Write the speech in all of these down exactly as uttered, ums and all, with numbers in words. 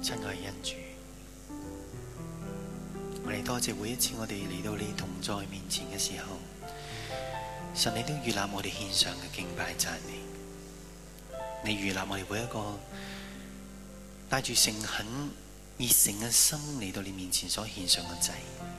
親愛嘅恩主，我哋多謝每一次我哋嚟到你同在面前嘅時候，神你都預立我哋獻上嘅敬拜讚美，你預立我哋每一個帶住誠懇熱誠嘅心嚟到你面前所獻上嘅祭。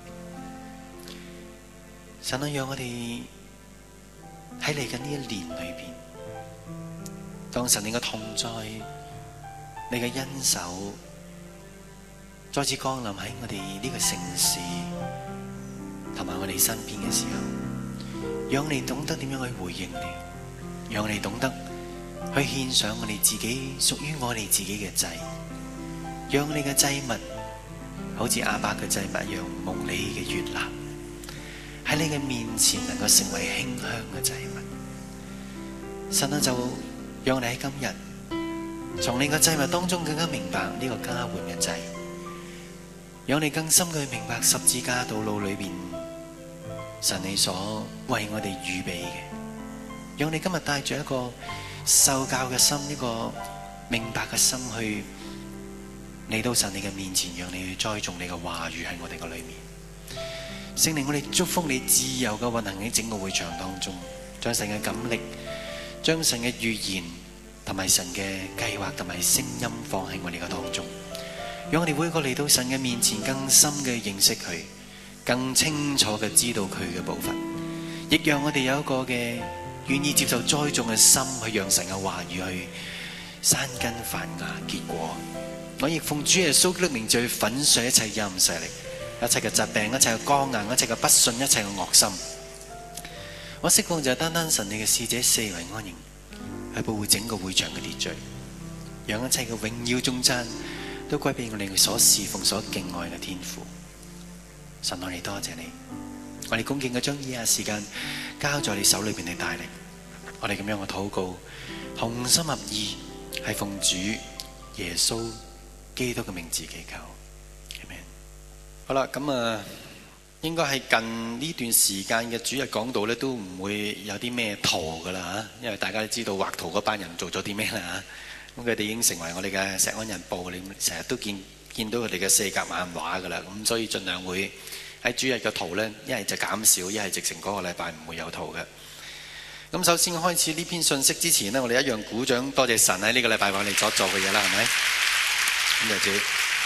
神啊，讓我哋喺嚟緊呢一年裏邊，當神你嘅同在、你嘅恩手再次降臨喺我哋呢個城市同埋我哋身邊嘅時候，讓你懂得點樣去回應你，讓你懂得去獻上我哋自己屬於我哋自己嘅祭，讓你嘅祭物好似亞伯嘅祭物一樣蒙你嘅悅納，喺你嘅面前能夠成為馨香嘅祭物。神啊，就讓你喺今日從你嘅祭物當中更加明白呢個交換嘅祭，讓你更深嘅明白十字架道路裏邊神你所為我哋預備嘅，讓你今日帶住一個受教嘅心，一個明白嘅心去嚟到神你嘅面前，讓你去栽種你嘅話語喺我哋嘅裏面。聖靈，我哋祝福你自由嘅運行喺整個會場當中，將神嘅感力，將神嘅預言同埋神嘅計劃同埋聲音放喺我哋嘅當中，讓我哋每一個嚟到神嘅面前更深嘅認識佢，更清楚嘅知道佢嘅步伐，亦讓我哋有一個嘅願意接受栽種嘅心，去讓神嘅話語去生根發芽結果。我亦奉主耶穌基督名去粉碎一切陰勢力，一切嘅疾病，一切嘅剛硬，一切嘅不信，一切嘅惡心。我釋放就係單單神你嘅使者四圍安營，去保護整個會場嘅秩序，讓一切嘅榮耀頌讚都歸俾我哋所侍奉所敬愛嘅天父。神，我哋多謝你，我哋恭敬嘅將以下時間交在你手裏邊嚟帶領，我哋咁樣嘅禱告，同心合意，係奉主耶穌基督嘅名字祈求。好啦，咁啊，應該係近呢段時間嘅主日講道咧，都唔會有啲咩圖噶啦嚇，因為大家都知道畫圖嗰班人做咗啲咩啦嚇，咁佢哋已經成為我哋嘅石安人報，你成日都見見到佢哋嘅四格漫畫噶啦，咁所以盡量會喺主日嘅圖咧，一係就減少，一係直情嗰個禮拜唔會有圖嘅。咁首先開始呢篇信息之前呢，我哋一樣鼓掌，多謝神喺呢個禮拜為我哋所做嘅嘢啦，係咪？咁就主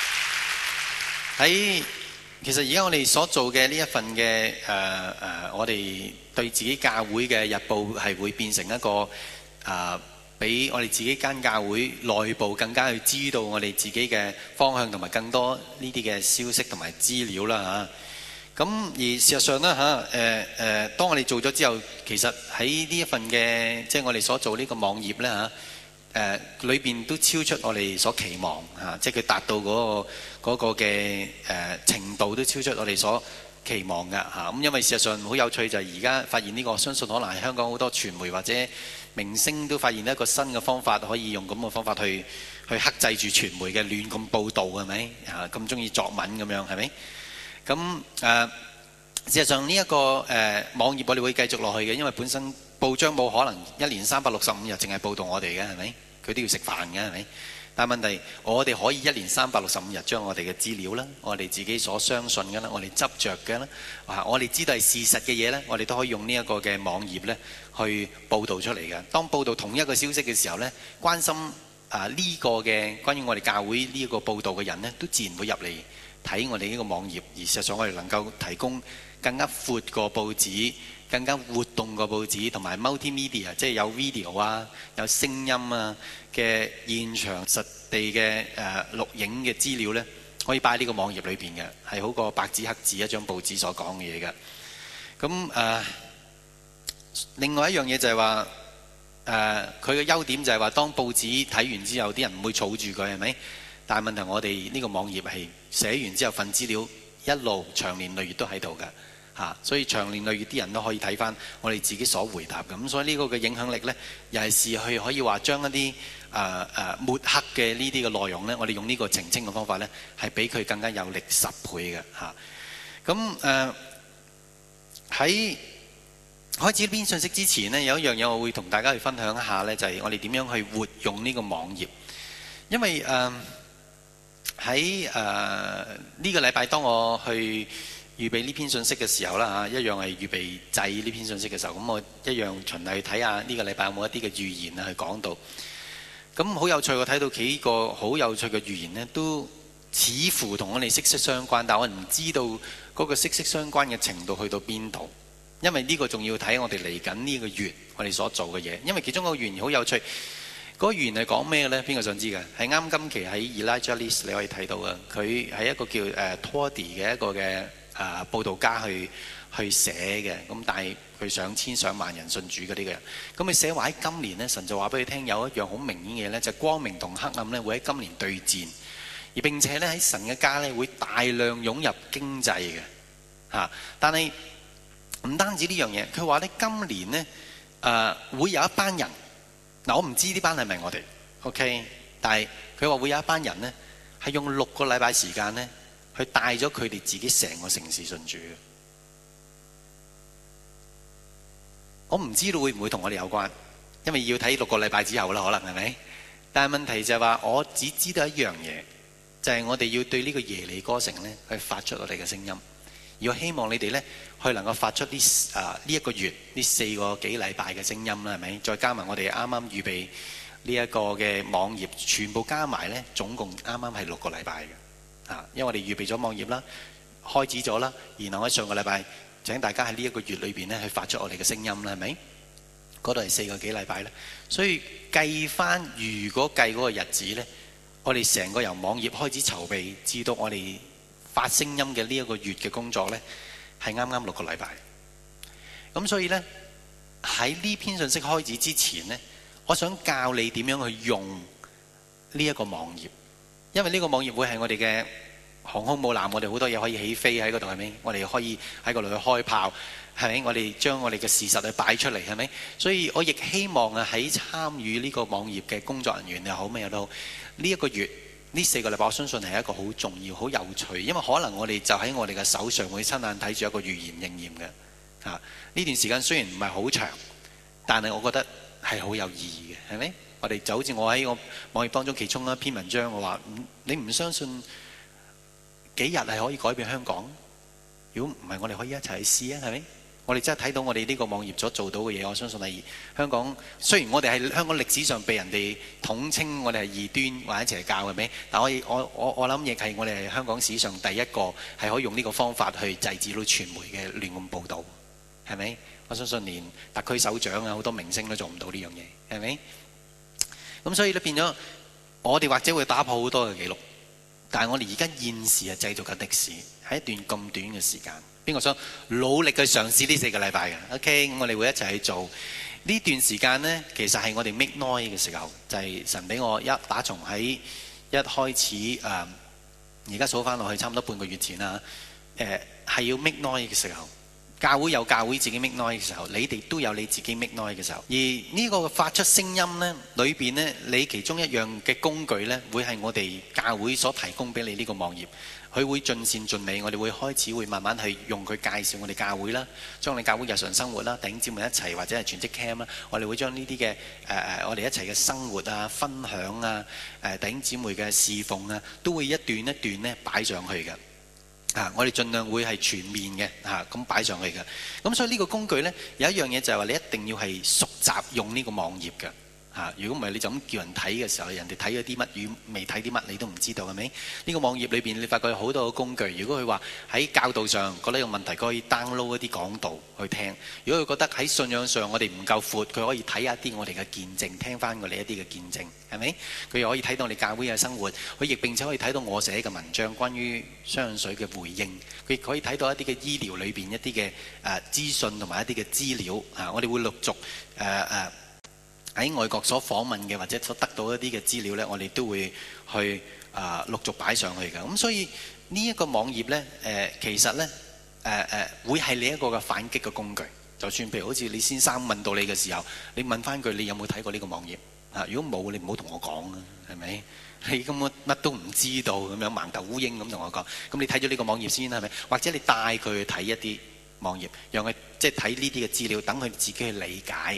喺。其實而家我哋所做嘅呢一份嘅誒誒，我哋對自己教會嘅日報係會變成一個誒，俾、呃、我哋自己間教會內部更加去知道我哋自己嘅方向同埋更多呢啲嘅消息同埋資料啦嚇。咁、啊、而事實上咧嚇誒誒，當我哋做咗之後，其實喺呢一份嘅即係我哋所做呢個網頁咧嚇。誒裏邊都超出我哋所期望嚇、啊，即係佢達到嗰、那個嘅誒、呃、程度都超出我哋所期望嘅嚇。咁、啊、因為事實上好有趣就係而家發現呢、這個，相信可能係香港好多傳媒或者明星都發現一個新嘅方法，可以用咁嘅方法去去克制住傳媒嘅亂咁報導，係咪嚇？咁中意作文咁樣係咪？咁誒、呃、事實上呢、這、一個誒、呃、網頁我哋會繼續落去嘅，因為本身報章冇可能一年三百六十五日淨係報導我哋嘅，係咪？佢都要食飯嘅，係咪？但係問題，我哋可以一年三百六十五日將我哋嘅資料啦，我哋自己所相信嘅啦，我哋執着嘅啦，啊，我哋知道係事實嘅嘢咧，我哋都可以用呢一個嘅網頁咧去報導出嚟嘅。當報導同一個消息嘅時候咧，關心啊呢個嘅關於我哋教會呢一個報導嘅人咧，都自然會入嚟睇我哋呢個網頁。而事實上，我哋能夠提供更加闊個報紙，更加活動個報紙，同埋 multimedia， 即係有 video 啊，有聲音啊嘅現場實地嘅誒錄影嘅資料呢，可以擺喺呢個網頁裏邊嘅，係好過白紙黑字一張報紙所講嘅嘢嘅。咁誒、呃，另外一樣嘢就係話誒，佢嘅優點就係話，當報紙睇完之後，啲人唔會儲住佢，係咪？但係問題，我哋呢個網頁係寫完之後，份資料一路長年累月都喺度嘅。嚇，所以長年累月啲人都可以睇翻我哋自己所回答嘅，咁所以呢個嘅影響力呢，又係試去可以話將一啲誒誒抹黑嘅呢啲嘅內容呢，我哋用呢個澄清嘅方法呢，係比佢更加有力十倍嘅嚇。咁誒喺開始呢篇信息之前呢，有一樣嘢我會同大家去分享一下呢，就係、是、我哋點樣去活用呢個網頁，因為誒。呃喺誒呢個禮拜，當我去預備呢篇信息嘅時候啦嚇，一樣係預備製呢篇信息嘅時候，咁我一樣循例去睇下呢個禮拜有冇一啲嘅預言啊去講到。咁好有趣，我睇到幾個好有趣嘅預言呢，都似乎同我哋息息相關，但我唔知道嗰個息息相關嘅程度去到邊度，因為呢個仲要睇我哋嚟緊呢個月我哋所做嘅嘢。因為其中一個預言好有趣，嗰個預言係講咩呢？邊個想知嘅？係啱今期喺 Elijah List 你可以睇到嘅，佢係一個叫誒 Toddy 嘅一個嘅誒報道家去去寫嘅，咁但係佢上千上萬人信主嘅呢個人，咁佢寫話喺今年呢，神就話俾佢聽有一樣好明顯嘅嘢呢，就係光明同黑暗呢會喺今年對戰，而並且呢喺神嘅家呢會大量湧入經濟嘅嚇。但係唔單止呢樣嘢，佢話呢今年呢誒會有一班人，嗱我唔知呢班係咪我哋 ，OK， 但係佢話會有一班人呢係用六個禮拜時間呢去帶咗佢哋自己成個城市信主嘅。我唔知道會唔會同我哋有關，因為要睇六個禮拜之後啦，可能係咪？但係問題就係話，我只知道一樣嘢，就係、是、我哋要對呢個耶利哥城呢去發出我哋嘅聲音。而我希望你哋呢去能夠發出呢啊呢一個月呢四個幾禮拜嘅聲音啦，係咪？再加埋我哋啱啱預備呢一個嘅網頁，全部加埋呢，總共啱啱係六個禮拜嘅。啊，因為我哋預備咗網頁啦，開始咗啦，然後喺上個禮拜。請大家喺呢一個月裏邊咧，去發出我哋嘅聲音啦，係咪？嗰度係四個幾禮拜咧，所以計翻，如果計嗰個日子咧，我哋成個由網頁開始籌備，至到我哋發聲音嘅呢一個月嘅工作咧，係啱啱六個禮拜。咁所以咧，喺呢篇信息開始之前咧，我想教你點樣去用呢一個網頁，因為呢個網頁會係我哋嘅航空母艦，我哋好多嘢可以起飛喺嗰度，係咪？我哋可以喺嗰度去開炮，係咪？我哋將我哋嘅事實去擺出嚟，係咪？所以我亦希望啊，喺參與呢個網頁嘅工作人員又好咩又好，呢一個月呢四個禮拜，我相信係一個好重要、好有趣，因為可能我哋就喺我哋嘅手上會親眼睇住一個預言應驗嘅。啊，呢段時間雖然唔係好長，但係我覺得係好有意義嘅，係咪？我哋就好似我喺我網頁當中其中一篇文章，我話你唔相信幾日係可以改變香港？如果唔係，我哋可以一齊去試啊，係咪？我哋真係睇到我哋呢個網頁所做到嘅嘢，我相信係香港。雖然我哋係香港歷史上被人哋統稱我哋係異端或者邪教，係咪？但我我我我諗亦係我哋係香港史上第一個係可以用呢個方法去制止到傳媒嘅亂咁報導，係咪？我相信連特區首長啊，好多明星都做唔到呢樣嘢，係咪？咁所以咧變咗，我哋或者會打破好多嘅記錄。但係我哋而家現時係製造緊歷史，喺一段咁短嘅時間，邊個想努力去嘗試呢四個禮拜嘅 ？OK，咁我哋會一齊去做呢段時間呢，其實係我哋 make noise 嘅時候，就係、是、神俾我一打從喺一開始誒，而家數翻落去差唔多半個月前啦，誒、呃、係要 make noise 嘅時候。教會有教會自己 make noise 嘅時候，你哋都有你自己 make noise 嘅時候。而呢個發出聲音呢，裏邊呢，你其中一樣嘅工具呢，會係我哋教會所提供俾你呢個網頁。佢會盡善盡美，我哋會開始會慢慢去用佢介紹我哋教會啦，將我哋教會日常生活啦，弟兄姊妹一齊或者係全職 cam 啦，我哋會將呢啲嘅誒誒，我哋一齊嘅生活啊、分享啊、誒弟兄姊妹嘅侍奉啊，都會一段一段呢擺上去嘅。啊！我哋盡量會係全面嘅嚇，咁、啊、擺上去嘅。咁所以呢個工具呢，有一樣嘢就係話你一定要係熟習用呢個網頁嘅嚇。如果唔係，你就咁叫人睇嘅時候，人哋睇咗啲乜與未睇啲乜，你都唔知道係咪？呢、這個網頁裏邊你發覺有好多個工具。如果佢話喺教導上覺得有問題，佢可以 download 一啲講道去聽；如果佢覺得喺信仰上我哋唔夠闊，佢可以睇下啲我哋嘅見證，聽翻我哋一啲嘅見證，係咪？佢又可以睇到我哋教會嘅生活，佢亦並且可以睇到我寫嘅文章關於雙水嘅回應，佢亦可以睇到一啲嘅醫療裏邊一啲嘅誒資訊同埋一啲嘅資料啊！我哋會陸續誒誒。呃呃喺外國所訪問嘅或者所得到一啲嘅資料呢，我哋都會去啊、呃、陸續擺上去嘅。咁所以呢一個網頁呢，誒、呃、其實呢，誒、呃、誒、呃、會係你一個嘅反擊嘅工具。就算譬如好似李先生問到你嘅時候，你問翻佢你有冇睇過呢個網頁啊？如果冇，你唔好同我講啊，係咪？你根本乜都唔知道咁樣盲頭烏蠅咁同我講。咁你睇咗呢個網頁先係咪？或者你帶佢去睇一啲網頁，讓佢即係睇呢啲嘅資料，等佢自己去理解呢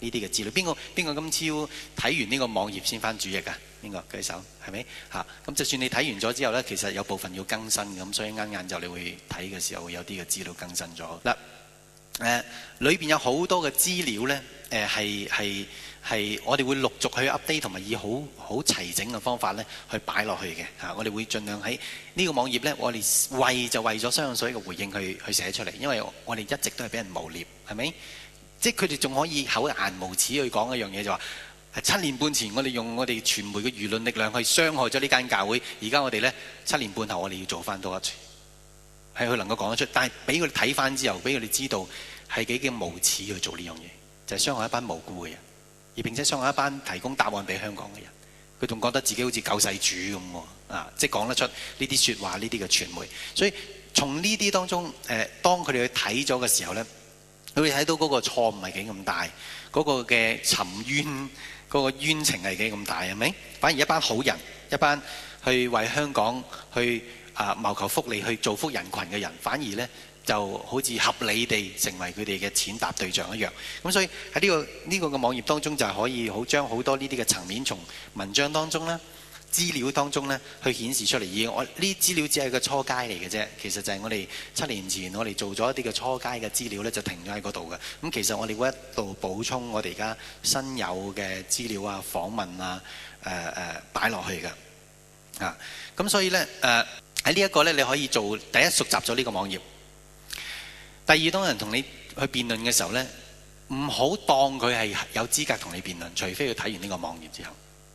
呢啲嘅資料。邊個邊個今朝睇完呢個網頁先翻主頁啊？邊個舉手？係咪嚇？咁就算你睇完咗之後呢，其實有部分要更新嘅，咁所以啱晏晝你會睇嘅時候會有啲嘅資料更新咗嗱。誒裏邊有好多嘅資料呢，誒係係係我哋會陸續去 update 同埋以好好齊整嘅方法呢去擺落去嘅嚇。我哋會盡量喺呢個網頁呢，我哋為就為咗雙氧水嘅回應去去寫出嚟，因為我哋一直都係俾人誣蔑，係咪？即係佢哋仲可以厚顏無恥去講一樣嘢，就話七年半前我哋用我哋傳媒嘅輿論力量去傷害咗呢間教會，而家我哋呢，七年半後我哋要做翻多一次。係佢能夠講得出，但係俾佢哋睇翻之後，俾佢哋知道係幾咁無恥去做呢樣嘢，就係、是、傷害一班無辜嘅人，而並且傷害一班提供答案俾香港嘅人。佢仲覺得自己好似救世主咁喎，啊！即係講得出呢啲説話，呢啲嘅傳媒。所以從呢啲當中，誒、呃，當佢哋去睇咗嘅時候呢，佢會睇到嗰個錯誤係幾咁大，嗰、那個嘅沉冤嗰、那個冤情係幾咁大，係咪？反而一班好人，一班去為香港去啊謀求福利、去造福人群嘅人，反而呢就好似合理地成為佢哋嘅踐踏對象一樣。咁所以喺呢、這個呢、這個嘅網頁當中，就係可以好將好多呢啲嘅層面，從文章當中呢、資料當中呢去顯示出嚟。而我呢啲資料只係個初階嚟嘅啫，其實就係我哋七年前我哋做咗一啲嘅初階嘅資料呢，就停咗喺嗰度嘅。咁其實我哋會一度補充我哋而家新有嘅資料啊、訪問啊、誒誒擺落去嘅。啊，咁所以呢，誒喺呢一個呢，你可以做第一熟習咗呢個網頁。第二，當人同你去辯論嘅時候呢，唔好當佢係有資格同你辯論，除非佢睇完呢個網頁之後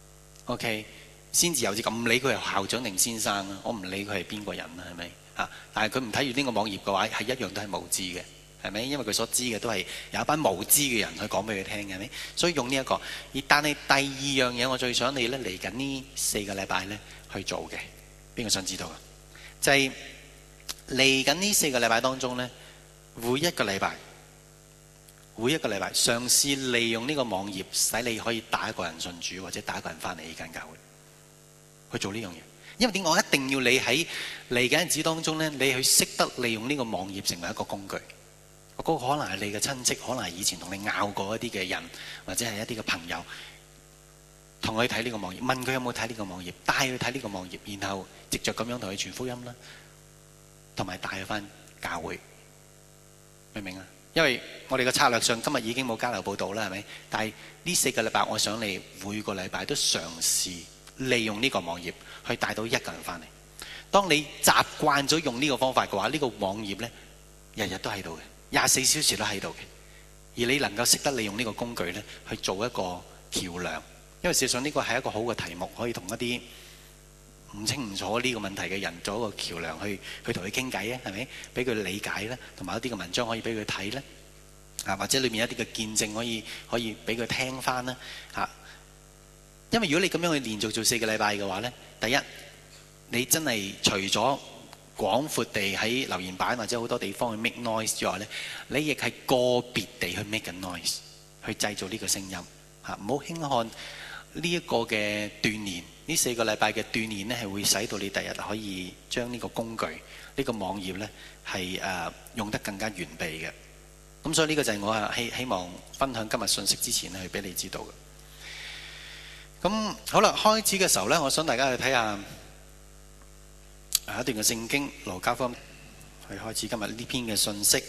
，OK， 先至有資格。唔理佢係校長定先生啦，我唔理佢係邊個人啦，係咪啊？但係佢唔睇完呢個網頁嘅話，係一樣都係無知嘅，係咪？因為佢所知嘅都係有一班無知嘅人去講俾佢聽嘅，係咪？所以用呢、這、一個。而但係第二樣嘢，我最想你呢嚟緊呢四個禮拜呢去做嘅，邊個想知道啊？就係嚟緊呢四個禮拜當中呢。每一個禮拜，每一個禮拜嘗試利用呢個網頁，使你可以帶一個人信主，或者帶一個人翻嚟呢間教會去做呢樣嘢。因為點解我一定要你喺嚟緊日子當中呢，你去識得利用呢個網頁成為一個工具。嗰個可能係你嘅親戚，可能係以前同你拗過一啲嘅人，或者係一啲嘅朋友，同佢睇呢個網頁，問佢有冇睇呢個網頁，帶佢睇呢個網頁，然後藉着咁樣同佢傳福音啦，同埋帶佢翻教會。明唔明啊？因為我哋嘅策略上今日已經冇交流報道啦，係咪？但係呢四個禮拜，我想你每個禮拜都嘗試利用呢個網頁去帶到一個人翻嚟。當你習慣咗用呢個方法嘅話，呢個網頁呢日日都喺度嘅，廿四小時都喺度嘅。而你能夠識得利用呢個工具呢去做一個橋梁，因為事實上呢個係一個好嘅題目，可以同一啲唔清唔楚呢個問題嘅人做一個橋梁，去去同佢傾偈啊，係咪？俾佢理解咧，同埋一啲嘅文章可以俾佢睇咧，啊或者裏面一啲嘅見證可以可以俾佢聽翻啦，嚇。因為如果你咁樣去連續做四個禮拜嘅話咧，第一你真係除咗廣闊地喺留言板或者好多地方去 make noise 之外咧，你亦係個別地去 make 緊 noise，去製造呢個聲音嚇，唔好輕看呢一個嘅鍛鍊。呢四個禮拜嘅鍛鍊呢，係會使到你第日可以將呢個工具、呢、呢個網頁呢，係誒、呃、用得更加完備嘅。咁所以呢個就係我希希望分享今日信息之前呢，去俾你知道嘅。咁好啦，開始嘅時候呢，我想大家去睇下一段嘅聖經《路加福音》，去開始今日呢篇嘅信息。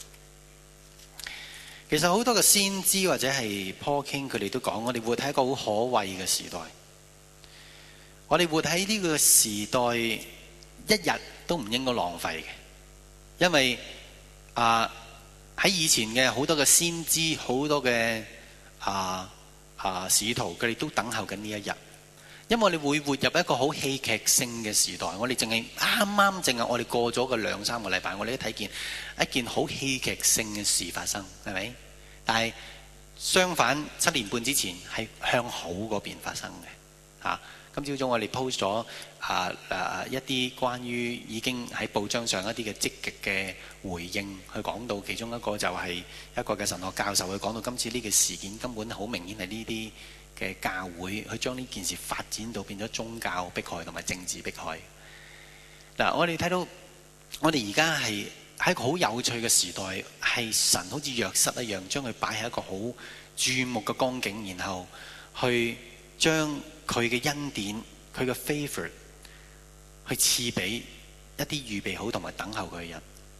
其實好多嘅先知或者係 Paul King 佢哋都講，我哋活喺一個好可畏嘅時代。我哋活喺呢個時代，一日都唔應該浪費嘅，因為啊喺以前嘅好多嘅先知，好多嘅啊啊使徒，佢哋都等候緊呢一日，因為我哋會活入一個好戲劇性嘅時代。我哋淨係啱啱淨係我哋過咗個兩三個禮拜，我哋都睇見一件好戲劇性嘅事發生，係咪？但係相反，七年半之前係向好嗰邊發生嘅，嚇、啊。今朝早我哋 post 咗啊啊一啲關於已經喺報章上一啲嘅積極嘅回應，去講到其中一個就係一個嘅神學教授，去講到今次呢個事件根本好明顯係呢啲嘅教會去將呢件事發展到變咗宗教迫害同埋政治迫害。嗱，我哋睇到我哋而家係喺一個好有趣嘅時代，係神好似約瑟一樣，將佢擺喺一個好注目嘅光景，然後去將佢嘅恩典、佢嘅 favor 去賜俾一啲預備好同埋等候佢嘅人。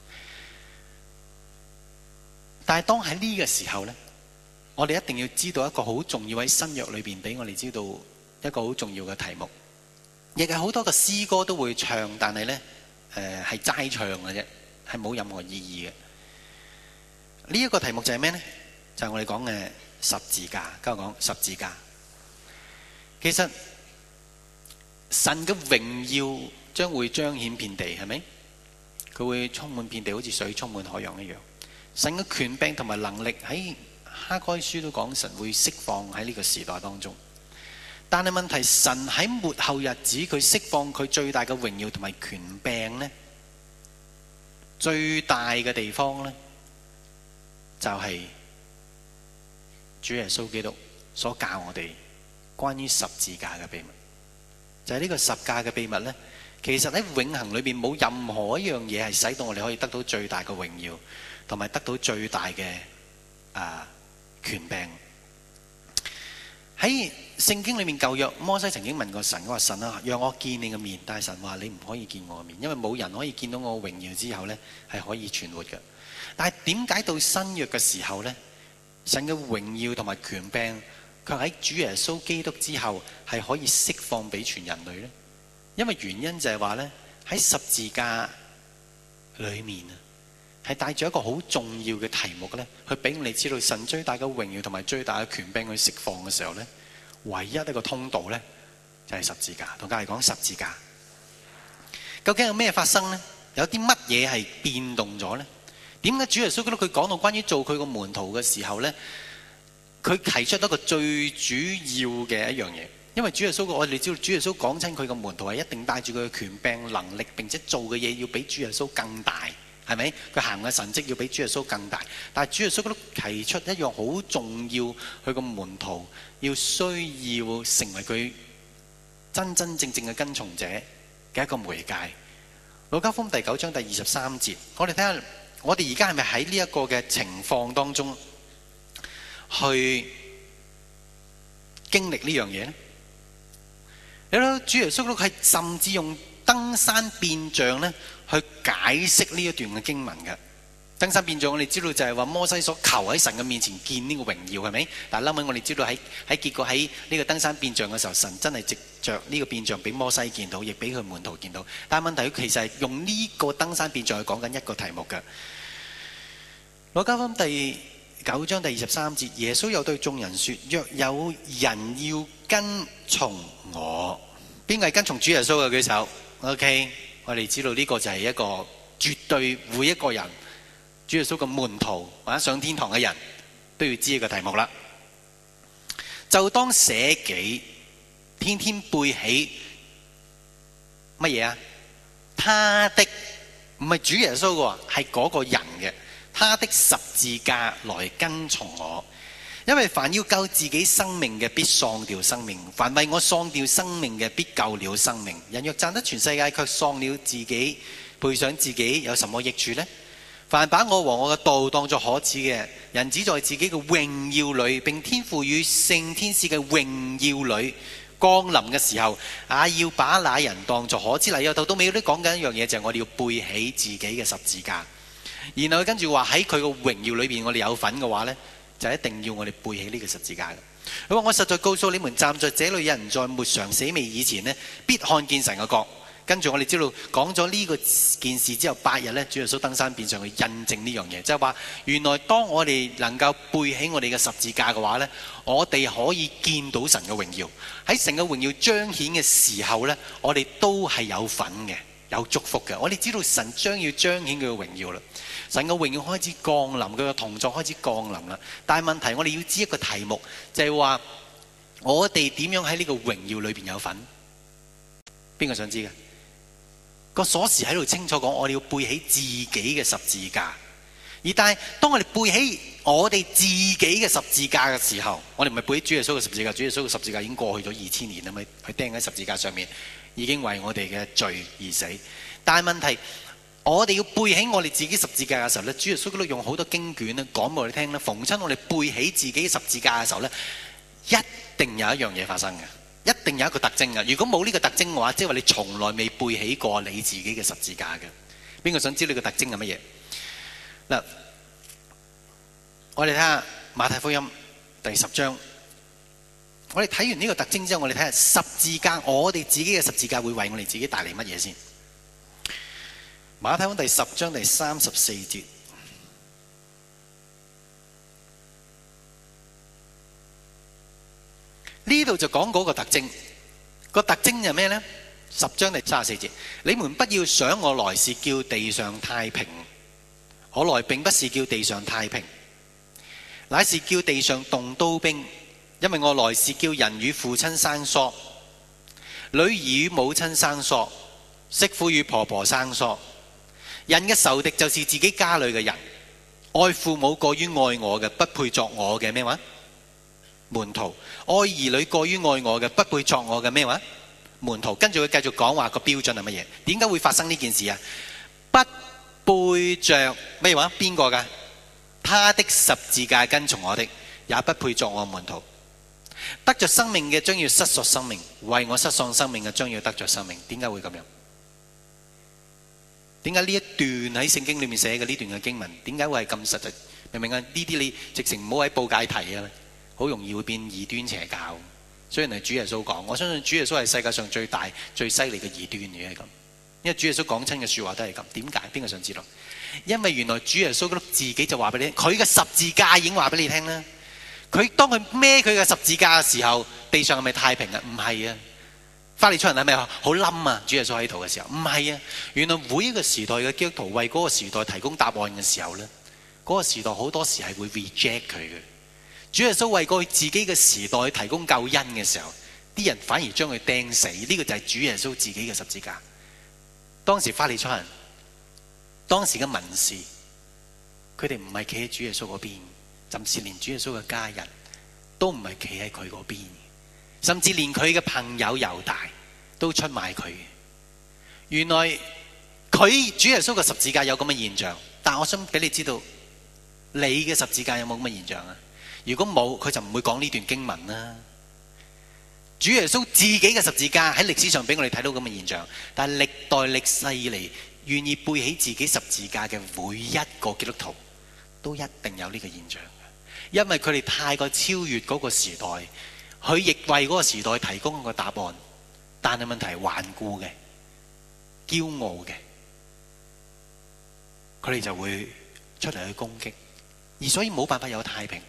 但係當喺呢個時候呢，我哋一定要知道一個好重要喺新約裏邊俾我哋知道一個好重要嘅題目，亦係好多嘅詩歌都會唱，但係呢誒係齋唱嘅啫，係冇任何意義嘅。呢、這、一個題目就係咩呢？就係、是、我哋講嘅十字架。今日講十字架，其實神嘅榮耀將會彰顯遍地，係咪？佢會充滿遍地，好似水充滿海洋一樣。神嘅權柄同埋能力喺哈該書都講，神會釋放喺呢個時代當中。但係問題，神喺末後日子佢釋放佢最大嘅榮耀同埋權柄呢，最大嘅地方呢，就係主耶穌基督所教我哋關於十字架嘅秘密。就係呢個十架嘅秘密呢，其實喺永恆裏邊冇任何一樣嘢係使到我哋可以得到最大嘅榮耀同埋得到最大嘅啊權柄。喺聖經裏面舊約，摩西曾經問過神，佢話神啊，讓我見你嘅面，但係神話你唔可以見我嘅面，因為冇人可以見到我嘅榮耀之後呢係可以存活嘅。但係點解到新約嘅時候呢，神嘅榮耀同埋權柄卻喺主耶穌基督之後係可以釋放俾全人類呢？因為原因就係話呢，喺十字架裏面啊，係帶住一個好重要嘅題目呢，去俾我哋知道神最大嘅榮耀同埋最大嘅權柄去釋放嘅時候呢，唯一一個通道呢，就係十字架。同隔籬講十字架，究竟有咩發生呢？有啲乜嘢係變動咗呢？點解主耶穌基督佢講到關於做佢個門徒嘅時候呢，佢提出一個最主要嘅一樣嘢？因為主耶穌，我哋知道主耶穌講親佢個門徒係一定帶住佢嘅權柄能力，並且做嘅嘢要比主耶穌更大，係咪？佢行嘅神蹟要比主耶穌更大。但係主耶穌都提出一樣好重要，佢個門徒要需要成為佢真真正正嘅跟從者嘅一個媒介。路加福音第九章第二十三節，我哋睇下，我哋而家係咪喺呢一個嘅情況當中去經歷呢樣嘢呢？你睇主耶穌基督係甚至用登山變像咧去解釋呢一段嘅經文嘅。登山變像我哋知道就係話摩西所求喺神嘅面前見呢個榮耀，係咪？但係後尾我哋知道喺喺結果喺呢個登山變像嘅時候，神真係藉着呢個變像俾摩西見到，亦俾佢門徒見到。但係問題佢其實係用呢個登山變像去講緊一個題目嘅。路加福音第九章第二十三節，耶穌又對眾人說：若有人要跟從我，邊個係跟從主耶穌嘅舉手 ？OK， 我哋知道呢個就係一個絕對每一個人主耶穌嘅門徒或者上天堂嘅人都要知呢個題目啦。就當捨己，天天背起乜嘢啊？他的唔係主耶穌嘅，係嗰個人嘅。他的十字架來跟從我，因為凡要救自己生命嘅，必喪掉生命；凡為我喪掉生命嘅，必救了生命。人若賺得全世界，卻喪了自己，賠上自己，有什麼益處呢？凡把我和我嘅道當作可恥嘅，人只在自己嘅榮耀裏，並天父與聖天使嘅榮耀裏降臨嘅時候，也要把那人當作可恥。嚟由頭到尾都講緊一樣嘢，就係、是、我哋要背起自己嘅十字架。然後佢跟住話喺佢個榮耀裏邊，我哋有份嘅話呢，就一定要我哋背起呢個十字架嘅。佢話：我實在告訴你們，站在這裏有人在沒嘗死未以前呢，必看見神嘅國。跟住我哋知道講咗呢個件事之後，八日呢，主耶穌登山變上去印證呢樣嘢，即係話原來當我哋能夠背起我哋嘅十字架嘅話呢，我哋可以見到神嘅榮耀。喺神嘅榮耀彰顯嘅時候呢，我哋都係有份嘅，有祝福嘅。我哋知道神將要彰顯佢嘅榮耀啦。神嘅榮耀開始降臨，佢嘅同在開始降臨啦。但係問題，我哋要知一個題目，就係話我哋點樣喺呢個榮耀裏邊有份？邊個想知嘅？個鎖匙喺度清楚講，我哋要背起自己嘅十字架。而但係當我哋背起我哋自己嘅十字架嘅時候，我哋唔係背起主耶穌嘅十字架。主耶穌嘅十字架已經過去咗二千年啦，咪佢釘喺十字架上面，已經為我哋嘅罪而死。但係問題， 我哋要背起我哋自己十字架嘅時候咧，主耶穌都用好多經卷咧講俾我哋聽咧。逢親我哋背起自己十字架嘅時候咧，一定有一樣嘢發生嘅，一定有一個特徵嘅。如果冇呢個特徵嘅話，即係話你從來未背起過你自己嘅十字架嘅。邊個想知道呢個特徵係乜嘢？嗱，我哋睇下馬太福音第十章。我哋睇完呢個特徵之後，我哋睇下十字架，我哋自己嘅十字架會為我哋自己帶嚟乜嘢先？馬太福音第十章第三十四節，呢度就講嗰個特徵。個特徵係咩呢？十章第三十四節，你們不要想我來是叫地上太平，我來並不是叫地上太平，乃是叫地上動刀兵。因為我來是叫人與父親生疏，女兒與母親生疏，媳婦與婆婆生疏。人嘅仇敵就是自己家裏嘅人，愛父母過於愛我嘅，不配作我嘅咩話門徒；愛兒女過於愛我嘅，不配作我嘅咩話門徒。跟住佢繼續講話個標準係乜嘢？點解會發生呢件事啊？不背着咩話邊個噶？他的十字架跟從我的，也不配作我門徒。得着生命嘅將要失喪生命，為我失喪生命嘅將要得着生命。點解會咁樣？點解呢一段喺聖經裏面寫嘅呢段嘅經文，點解會係咁實際？明唔明啊？呢啲你直情唔好喺報界提啊，好容易會變異端邪教。雖然係主耶穌講，我相信主耶穌係世界上最大最犀利嘅異端嘅係咁。因為主耶穌講親嘅說話都係咁。點解？邊個想知道？因為原來主耶穌自己就話俾你聽，佢嘅十字架已經話俾你聽啦。佢當佢孭佢嘅十字架嘅時候，地上係咪太平啊？唔係啊！法利賽人係咪好冧啊？主耶穌喺度嘅時候，唔係啊！原來每一個時代嘅基督徒為嗰個時代提供答案嘅時候呢，嗰、嗰個時代好多時係會 reject 佢嘅。主耶穌為過自己嘅時代提供救恩嘅時候，啲人反而將佢釘死。呢、呢個就係主耶穌自己嘅十字架。當時法利賽人，當時嘅文士，佢哋唔係企喺主耶穌嗰邊。甚至連主耶穌嘅家人都唔係企喺佢嗰邊，甚至連佢嘅朋友猶大都出賣佢。原來佢主耶穌嘅十字架有咁嘅現象，但我想俾你知道，你嘅十字架有冇咁嘅現象啊？如果冇，佢就唔會講呢段經文啦。主耶穌自己嘅十字架喺歷史上俾我哋睇到咁嘅現象，但係歷代歷世以嚟願意背起自己十字架嘅每一個基督徒，都一定有呢個現象。因為佢哋太過超越嗰個時代，佢亦為嗰個時代提供一個答案，但係問題係頑固嘅、驕傲嘅，佢哋就會出嚟去攻擊，而所以冇辦法有太平。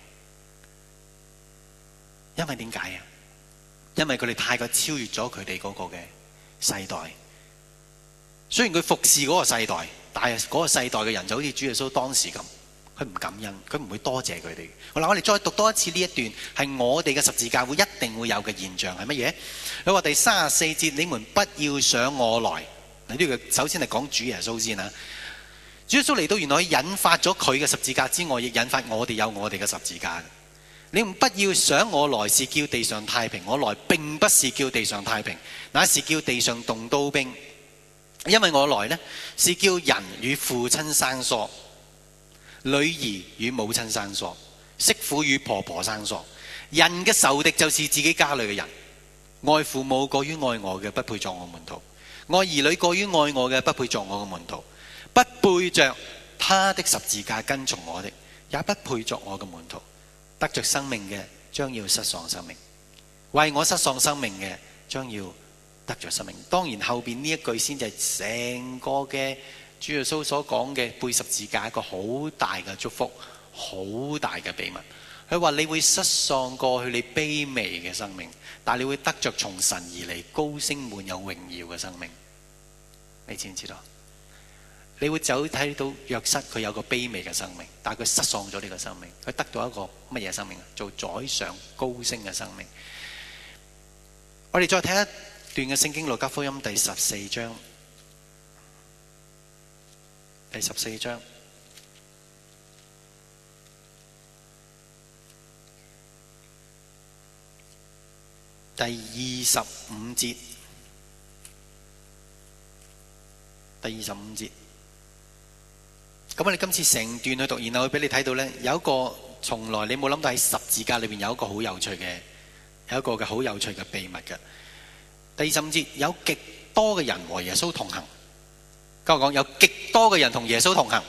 因為點解啊？因為佢哋太過超越咗佢哋嗰個嘅世代。雖然佢服侍嗰個世代，但係嗰個世代嘅人就好似主耶穌當時咁。佢唔感恩，佢唔會多謝佢哋。好啦，我哋再讀多一次呢一段，係我哋嘅十字架會一定會有嘅現象係乜嘢？佢話第三十四節，你們不要想我來。呢個首先係講主耶穌先啊。主耶穌嚟到，原來引發咗佢嘅十字架之外，亦引發我哋有我哋嘅十字架。你們不要想我來是叫地上太平，我來並不是叫地上太平，乃是叫地上動刀兵。因為我來呢，是叫人與父親生疏，女兒與母親生疏，媳婦與婆婆生疏。人嘅仇敵就是自己家裏嘅人，愛父母過於愛我嘅，不配作我門徒；愛兒女過於愛我嘅，不配作我嘅門徒。不背着他的十字架跟從我的，也不配作我嘅門徒。得着生命嘅，將要失喪生命；為我失喪生命嘅，將要得着生命。當然後邊呢一句先至係成個嘅主耶穌所講嘅背十字架一個好大嘅祝福，好大嘅秘密。佢話你會失喪過去你卑微嘅生命，但係你會得着從神而嚟高升滿有榮耀嘅生命。你知唔知道？你會走睇到約瑟，佢有個卑微嘅生命，但係佢失喪咗呢個生命，佢得到一個乜嘢生命啊？做宰相高升嘅生命。我哋再睇一段嘅聖經，路加福音第十四章。第十四章第二十五節，第二十五節， 咁我哋今次成段去讀，然後會俾你睇到呢，有一個從來你冇諗到喺十字架裏面有一個好有趣嘅，有一個嘅好有趣嘅秘密嘅。第二十五節，有極多嘅人和耶穌同行。跟我講，有極多嘅人同耶穌同行。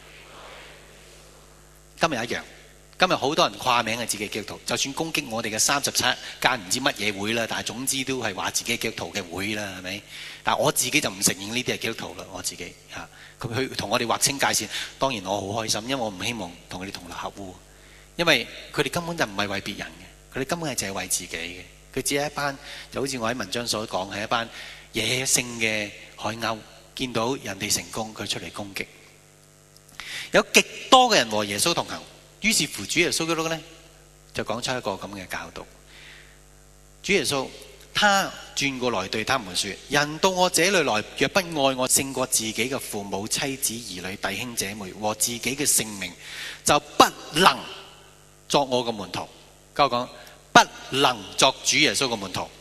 今日一樣，今日好多人掛名係自己基督徒，就算攻擊我哋嘅三十七間唔知乜嘢會啦，但係總之都係話自己基督徒嘅會啦，係咪？但係我自己就唔承認呢啲係基督徒啦，我自己嚇。佢去同我哋劃清界線，當然我好開心，因為我唔希望同佢哋同流合污，因為佢哋根本就唔係為別人嘅，佢哋根本係淨係為自己嘅。佢只係一班，就好似我喺文章所講，係一班野性嘅海鷗，見到人哋成功，佢出嚟攻擊。有極多嘅人和耶穌同行，於是乎主耶穌基督呢，就講出一個咁嘅教導。主耶穌他轉過來對他們說：人到我這裏來，若不愛我勝過自己嘅父母、妻子、兒女、弟兄姐妹和自己嘅性命，就不能作我嘅門徒。跟我講，不能作主耶穌嘅門徒。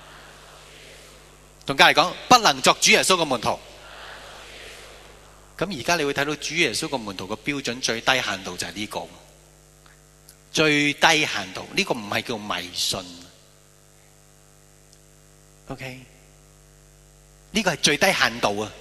同隔籬講，不能作主耶穌嘅門徒。咁而家你會睇到主耶穌嘅門徒嘅標準最低限度就係呢個，最低限度呢個唔係叫迷信。OK， 呢個係最低限度啊，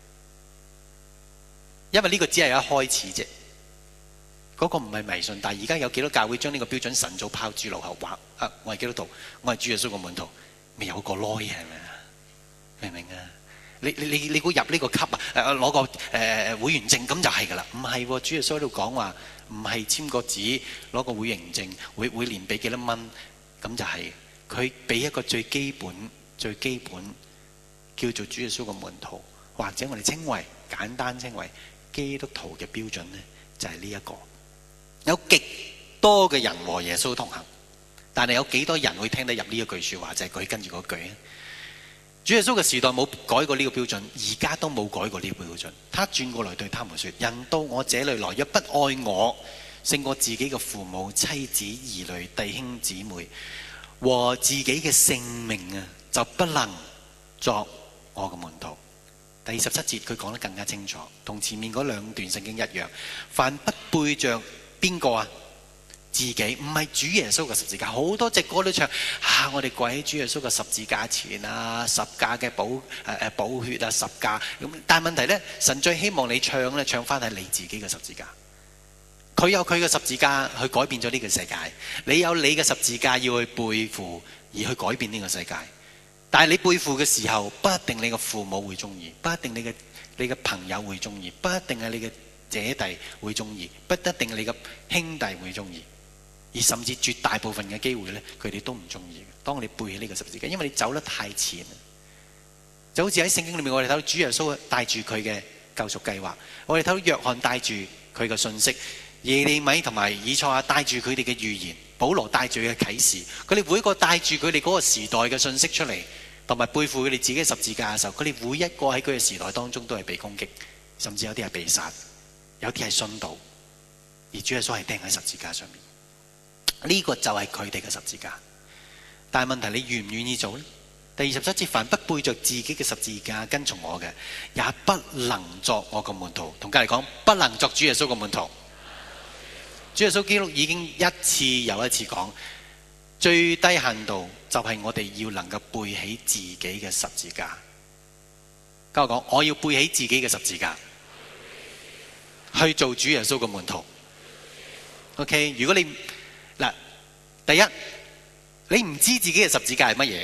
因為呢個只係一開始啫，嗰個唔係迷信。但係而家有幾多教會將呢個標準神早拋諸腦後，話啊，我係基督徒，我係主耶穌嘅門徒，未有個攞嘢係咪啊？明唔明啊？你你你你估入呢個級啊？誒攞個誒、呃、會員證咁就係㗎啦？唔係喎，主耶穌喺度講話，唔係簽個紙攞個會員證，會每年俾幾多蚊咁就係、是。佢俾一個最基本最基本叫做主耶穌嘅門徒，或者我哋稱為簡單稱為基督徒嘅標準呢，就係呢一個。有極多嘅人和耶穌同行，但係有幾多人會聽得入呢一句説話？就係、是、佢跟住嗰句。主耶穌嘅時代冇改過呢個標準，而家都冇改過呢個標準。他轉過來對他們說：人到我這裏來，若不愛我勝過自己嘅父母、妻子、兒女、弟兄姊妹和自己嘅性命啊，就不能作我嘅門徒。第二十七節佢講得更加清楚，同前面嗰兩段聖經一樣。凡不背着邊個啊？自己，唔係主耶穌嘅十字架。好多隻歌都唱啊，我哋跪喺主耶穌嘅十字架前啊，十架嘅寶誒誒寶血啊，十架咁。但係問題咧，神最希望你唱咧，唱翻係你自己嘅十字架。佢有佢嘅十字架去改變咗呢個世界，你有你嘅十字架要去背負而去改變呢個世界。但係你背負嘅時候，不一定你嘅父母會中意，不一定你嘅你嘅朋友會中意，不一定係你嘅姐弟會中意，不一定你嘅兄弟會中意。而甚至絕大部分嘅機會呢，佢哋都唔中意。當你背起呢個十字架，因為你走得太前，就好似喺聖經裏面，我哋睇到主耶穌帶住佢嘅救贖計劃，我哋睇到約翰帶住佢嘅信息，耶利米同埋以賽亞帶住佢哋嘅預言，保羅帶住佢嘅啟示，佢哋每一個帶住佢哋嗰個時代嘅信息出嚟，同埋背負佢哋自己嘅十字架嘅時候，佢哋每一個喺佢嘅時代當中都係被攻擊，甚至有啲係被殺，有啲係殉道，而主耶穌係釘喺十字架上面。呢個就係佢哋嘅十字架，但係問題你願唔願意做呢？第二十七節，凡不背着自己嘅十字架跟從我嘅，也不能作我嘅門徒。同隔籬講，不能作主耶穌嘅門徒。主耶穌基督已經一次又一次講，最低限度就係我哋要能夠背起自己嘅十字架。跟我講，我要背起自己嘅十字架去做主耶穌嘅門徒。OK， 如果你嗱，第一，你唔知自己嘅十字架係乜嘢，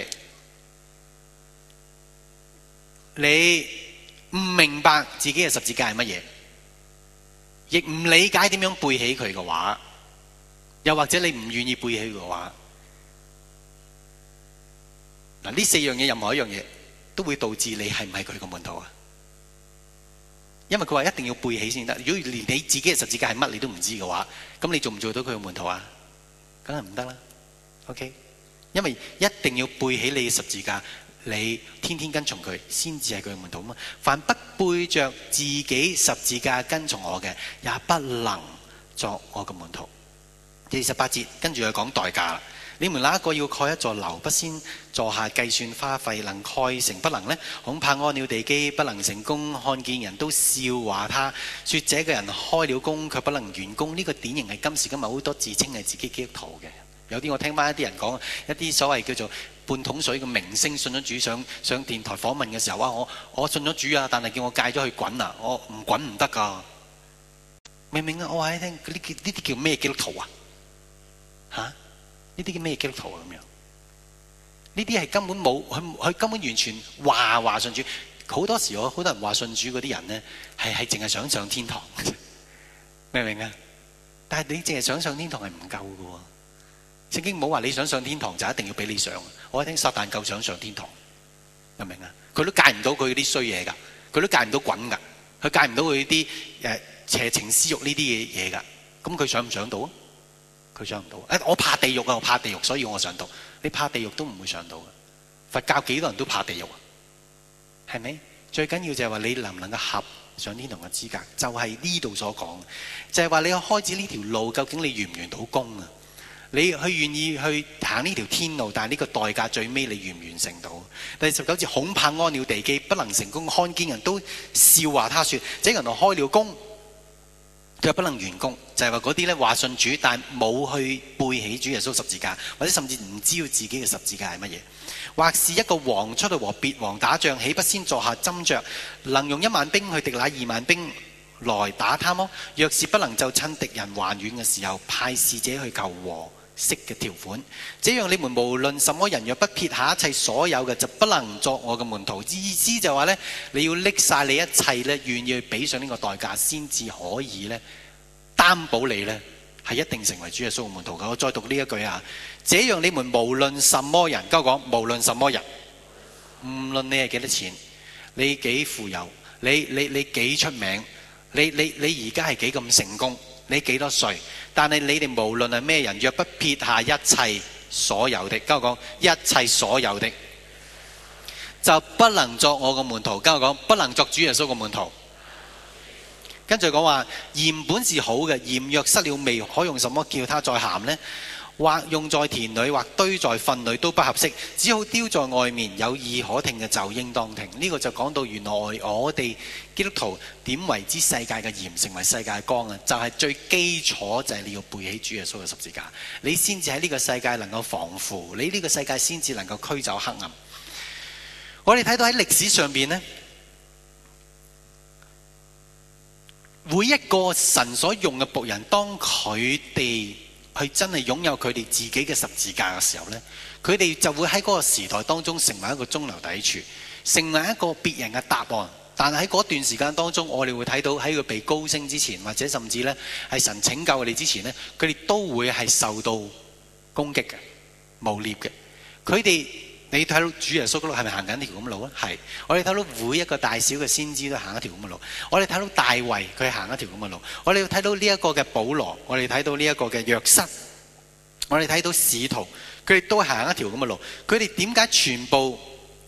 你唔明白自己嘅十字架係乜嘢，亦唔理解點樣背起佢嘅話，又或者你唔願意背起佢嘅話，嗱，呢四樣嘢任何一樣嘢都會導致你係唔係佢嘅門徒啊？因為佢話一定要背起先得。如果連你自己嘅十字架係乜你都唔知嘅話，咁你做唔做到佢嘅門徒啊？梗係唔得啦 ，OK？ 因為一定要背起你嘅十字架，你天天跟從佢，先至係佢嘅門徒嘛。凡不背着自己十字架跟從我嘅，也不能作我嘅門徒。 第十八節跟住佢講代價啦。你們哪一個要蓋一座樓，不先坐下計算花費，能蓋成不能呢？恐怕安了地基不能成功，看見人都笑話他，說這個人開了工卻不能完工。呢、這個典型係今時今日好多自稱係自己基督徒嘅。有啲我聽翻一啲人講，一啲所謂叫做半桶水嘅明星信咗主，上上電台訪問嘅時候，哇！我我信咗主啊，但係叫我戒咗去滾啊，我唔滾唔得噶。明唔明啊？我話你聽，呢啲呢啲叫咩基督徒啊？嚇、啊？呢啲叫咩基督徒啊？咁樣呢啲係根本冇，佢佢根本完全話話信主。好多時我好多人話信主嗰啲人咧，係係淨係想上天堂，明唔明啊？但係你淨係想上天堂係唔夠㗎喎。聖經冇話你想上天堂就一定要俾你上。我一聽撒旦夠想上天堂，明唔明啊？佢都戒唔到佢啲衰嘢㗎，佢都戒唔到滾㗎，佢戒唔到佢啲誒邪情私慾呢啲嘢嘢㗎。咁佢想唔上到啊？佢上唔到。誒，我怕地獄啊！我怕地獄，所以我上到。你怕地獄都唔會上到嘅。佛教幾多人都怕地獄啊？係咪？最緊要就係話你能唔能夠合上天堂嘅資格，就係呢度所講，就係話你開始呢條路，究竟你完唔完到工啊？你去願意去行呢條天路，但係呢個代價最尾你完唔完成到？第十九節，恐怕安了地基不能成功，看見人都笑話他說，這人開了工佢不能完工，就係話嗰啲咧話信主，但冇去背起主耶穌十字架，或者甚至唔知道自己嘅十字架係乜嘢。或是一個王出去和別王打仗，豈不先坐下斟酌，能用一萬兵去敵那二萬兵來打他麼？若是不能，就趁敵人還遠嘅時候，派使者去求和息嘅條款。這樣你們無論什麼人，若不撇下一切所有嘅，就不能作我嘅門徒。意思就話呢，你要拎晒你一切呢，願意去俾上呢個代價，先至可以呢擔保你呢係一定成為主耶穌嘅門徒嘅。我再讀呢一句啊，這樣你們無論什麼人，跟我講，無論什麼人，無論你係幾多錢，你幾富有，你你你幾出名，你你你而家係幾咁成功，你幾多歲，但係你哋無論係咩人，若不撇下一切所有的，跟我講，一切所有的，就不能作我嘅門徒。跟我講，不能作主耶穌嘅門徒。跟住講話，鹽本是好嘅，鹽若失了味，可用什麼叫它再鹹呢？或用在田裏，或堆在糞裏都不合適，只好丟在外面。有耳可聽嘅就應當聽。呢、這個就講到原來我哋基督徒點為之世界嘅鹽，成為世界嘅光啊！就係、是、最基礎就係你要背起主耶穌嘅十字架，你先至喺呢個世界能夠防腐，你呢個世界先至能夠驅走黑暗。我哋睇到喺歷史上邊呢，每一個神所用嘅僕人，當佢哋去真係擁有佢哋自己嘅十字架嘅時候呢，佢哋就會喺嗰個時代當中成為一個中流砥柱，成為一個別人嘅答案。但係喺嗰段時間當中，我哋會睇到喺佢被高升之前，或者甚至呢係神拯救佢哋之前呢，佢哋都會係受到攻擊嘅、誣衊嘅。佢哋你睇到主耶穌嗰度係咪行緊條咁嘅路啊？係。我哋睇到每一個大小嘅先知都行一條咁嘅路。我哋睇到大衛佢行一條咁嘅路。我哋睇到呢一個嘅保羅，我哋睇到呢一個嘅約瑟，我哋睇到使徒，佢哋都行一條咁嘅路。佢哋點解全部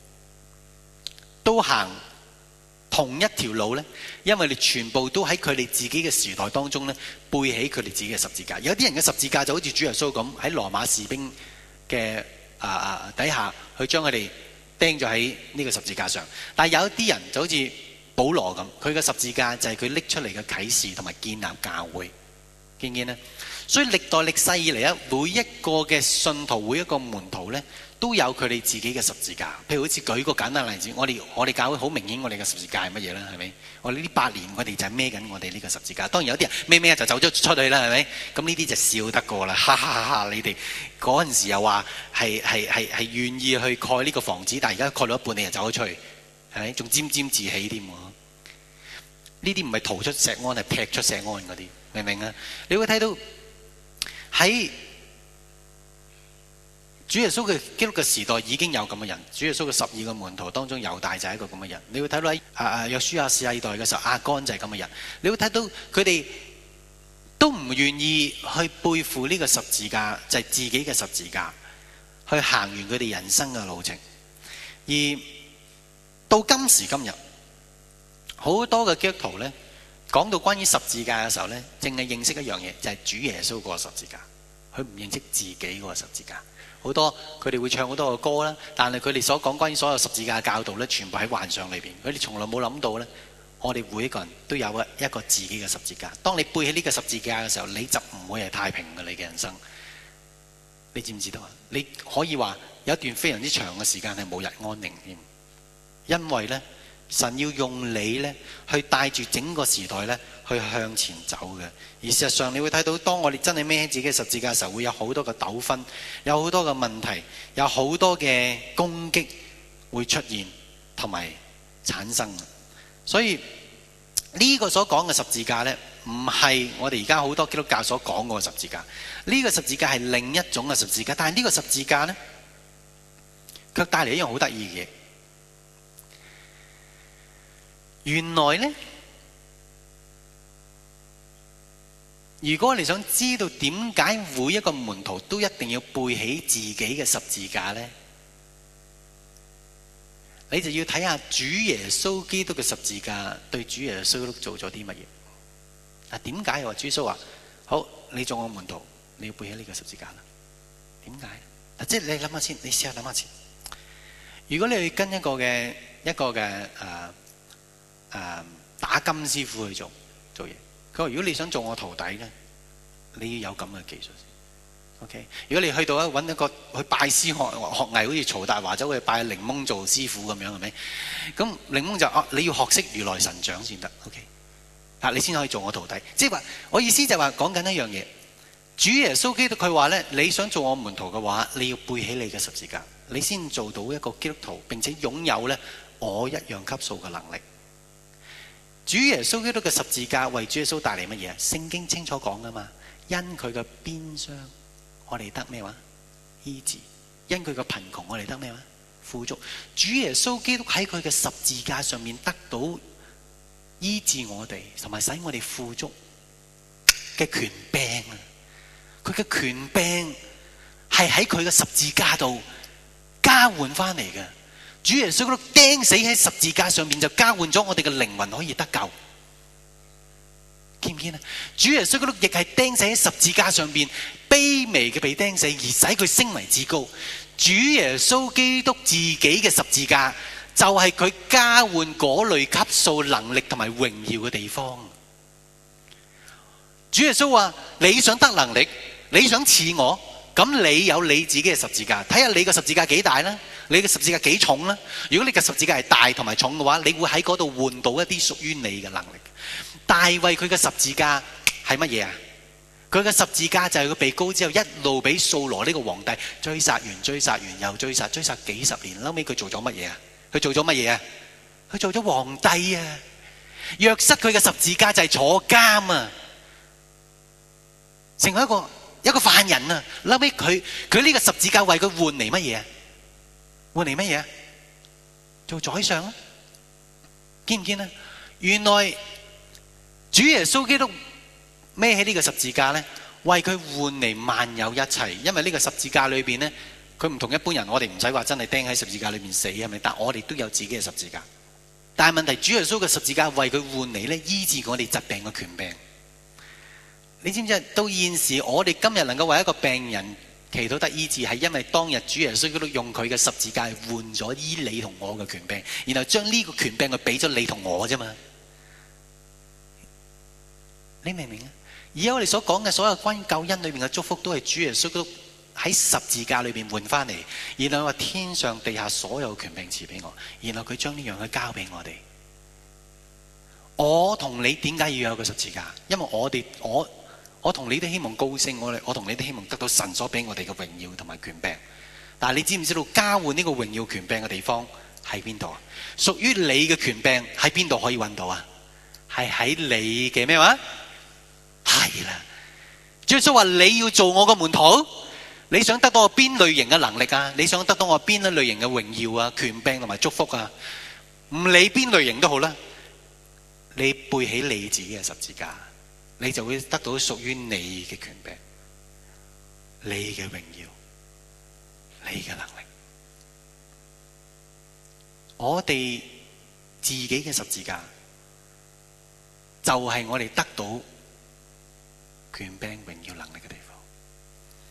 都行同一條路呢？因為你全部都喺佢哋自己嘅時代當中呢，背起佢哋自己嘅十字架。有啲人嘅十字架就好似主耶穌咁喺羅馬士兵嘅啊啊底下去將佢哋釘咗喺呢個十字架上，但係有啲人就好似保羅咁，佢嘅十字架就係佢拎出嚟嘅啟示同埋建立教會，見唔見呢？所以歷代歷世以嚟咧，每一個嘅信徒，每一個門徒咧，都有佢哋自己嘅十字架。譬如好似舉個簡單例子，我哋我哋教會好明顯，我哋嘅十字架係乜嘢咧？係咪？我哋呢八年，我哋就係孭緊我哋呢個十字架。當然有啲人孭孭就走咗出去啦，係咪？咁呢啲就笑得過啦，哈哈哈哈！你哋嗰陣時又話係係係係願意去蓋呢個房子，但係而家蓋到一半，你就走咗出去，係咪？仲沾沾自喜添喎！呢啲唔係逃出石安，係劈出石安嗰啲，明唔明啊？你會睇到。喺主耶穌嘅基督嘅時代已經有咁嘅人，主耶穌嘅十二個門徒當中，猶大就係一個咁嘅人。你會睇到喺啊啊約書亞世代嘅時候，亞干就係咁嘅人。你會睇到佢哋都唔願意去背負呢個十字架，就係自己嘅十字架，去行完佢哋人生嘅路程。而到今時今日，好多嘅基督徒呢，講到關於十字架嘅時候呢，淨係認識一樣嘢，就係主耶穌嗰個十字架。 佢唔認識自己嗰個十字架。好多佢哋會唱好多個歌啦，但係佢哋所講關於所有十字架嘅教導咧，全部喺幻想裏邊。佢哋從來冇諗到咧，我哋每一個人都有一一個自己嘅十字架。當你背起呢個十字架嘅時候，你就唔會係太平嘅你嘅人生。你知唔知道啊？你可以話有一段非常之長嘅時間係冇日安寧添，因為咧神要用你咧去帶住整個時代咧去向前走嘅。而事實上你會睇到，當我哋真係孭起自己嘅十字架嘅時候，會有好多嘅糾紛，有好多嘅問題，有好多嘅攻擊會出現同埋產生。所以呢個所講嘅十字架呢，唔係我哋而家好多基督教所講嘅十字架。呢個十字架係另一種嘅十字架，但係呢個十字架呢，卻帶嚟一樣好得意嘅嘢。原來呢，如果你想知道點解每一個門徒都一定要背起自己嘅十字架呢，你就要睇下主耶穌基督嘅十字架對主耶穌基督做咗啲乜嘢。啊，點解又話主耶穌話好，你做我門徒，你要背起呢個十字架啦？點解？嗱，即係你諗下先，你試下諗下先。如果你去跟一個嘅一個嘅誒誒打金師傅去做做嘢，佢話如果你想做我徒弟咧，你要有咁嘅技術先。OK， 如果你去到咧揾一個去拜師學學藝，好似曹達華走去拜檸檬做師傅咁樣，係咪？咁檸檬就啊，你要學識如來神掌先得。OK， 啊，你先可以做我徒弟。即係話，我意思就係話講緊一樣嘢。主耶穌基督佢話咧，你想做我門徒嘅話，你要背起你嘅十字架，你先做到一個基督徒，並且擁有咧我一樣級數嘅能力。主耶穌基督嘅十字架為主耶穌帶嚟乜嘢？聖經清楚講噶嘛，因佢嘅鞭傷，我哋得咩話？醫治。因佢嘅貧窮，我哋得咩話？富足。主耶穌基督喺佢嘅十字架上面得到醫治我哋，同埋使我哋富足嘅權柄啊！佢嘅權柄係喺佢嘅十字架度交換翻嚟嘅。主耶穌基督釘死喺十字架上面，就交換咗我哋嘅靈魂可以得救。見唔見啊？主耶穌基督亦係釘死喺十字架上邊，卑微嘅被釘死，而使佢升為至高。主耶穌基督自己嘅十字架就係佢交換嗰類級數能力同埋榮耀嘅地方。主耶穌話：你想得能力，你想似我，咁你有你自己嘅十字架，睇下你嘅十字架幾大啦，你嘅十字架幾重啦。如果你嘅十字架係大同埋重嘅話，你會喺嗰度換到一啲屬於你嘅能力。大衛佢嘅十字架係乜嘢啊？佢嘅十字架就係佢被膏之後一路俾掃羅呢個皇帝追殺完追殺完又追殺，追殺幾十年，後尾佢做咗乜嘢啊？佢做咗乜嘢啊？佢做咗皇帝啊！約瑟佢嘅十字架就係坐監啊，成為一個一個犯人啊！後尾佢佢呢個十字架為佢換嚟乜嘢啊？換嚟乜嘢啊？做宰相啊！見唔見啊？原來主耶穌基督孭起呢個十字架呢，為佢換嚟萬有一切。因為呢個十字架裏邊呢，佢唔同一般人，我哋唔使話真係釘喺十字架裏面死，係咪？但我哋都有自己嘅十字架。但係問題，主耶穌嘅十字架為佢換嚟呢，醫治我哋疾病嘅權柄。你知唔知？到現時我哋今日能夠為一個病人祈禱得醫治，係因為當日主耶穌基督用佢嘅十字架換咗醫你同我嘅權柄，然後將呢個權柄佢俾咗你同我啫嘛。你明唔明啊？而家我哋所講嘅所有關於救恩裏面嘅祝福，都係主耶穌基督喺十字架裏邊換翻嚟，然後話天上地下所有權柄賜俾我，然後佢將呢樣去交俾我哋。我同你點解要有個十字架？因為我哋我我同你都希望高升，我哋我同你都希望得到神所俾我哋嘅榮耀同埋權柄。但係你知唔知道交換呢個榮耀權柄嘅地方喺邊度啊？屬於你嘅權柄喺邊度可以揾到啊？係喺你嘅咩話？係啦，主耶穌話你要做我個門徒，你想得到我邊類型嘅能力啊？你想得到我邊一類型嘅榮耀啊、權柄同埋祝福啊？唔理邊類型都好啦，你背起你自己嘅十字架，你就會得到屬於你嘅權柄、你嘅榮耀、你嘅能力。我哋自己嘅十字架就係我哋得到權柄、榮耀、能力嘅地方。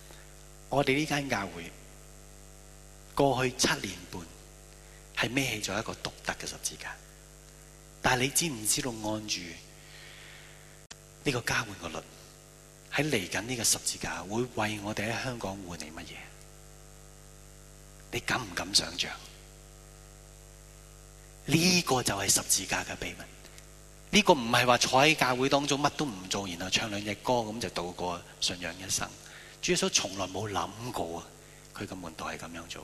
我哋呢間教會過去七年半係孭起咗一個獨特嘅十字架，但係你知唔知道按住呢個交換個律，喺嚟緊呢個十字架會為我哋喺香港換嚟乜嘢？你敢唔敢想象？呢個就係十字架嘅秘密。呢個唔係話坐喺教會當中乜都唔做，然後唱兩隻歌咁就度過信仰一生。主耶穌從來冇諗過啊，佢嘅門徒係咁樣做。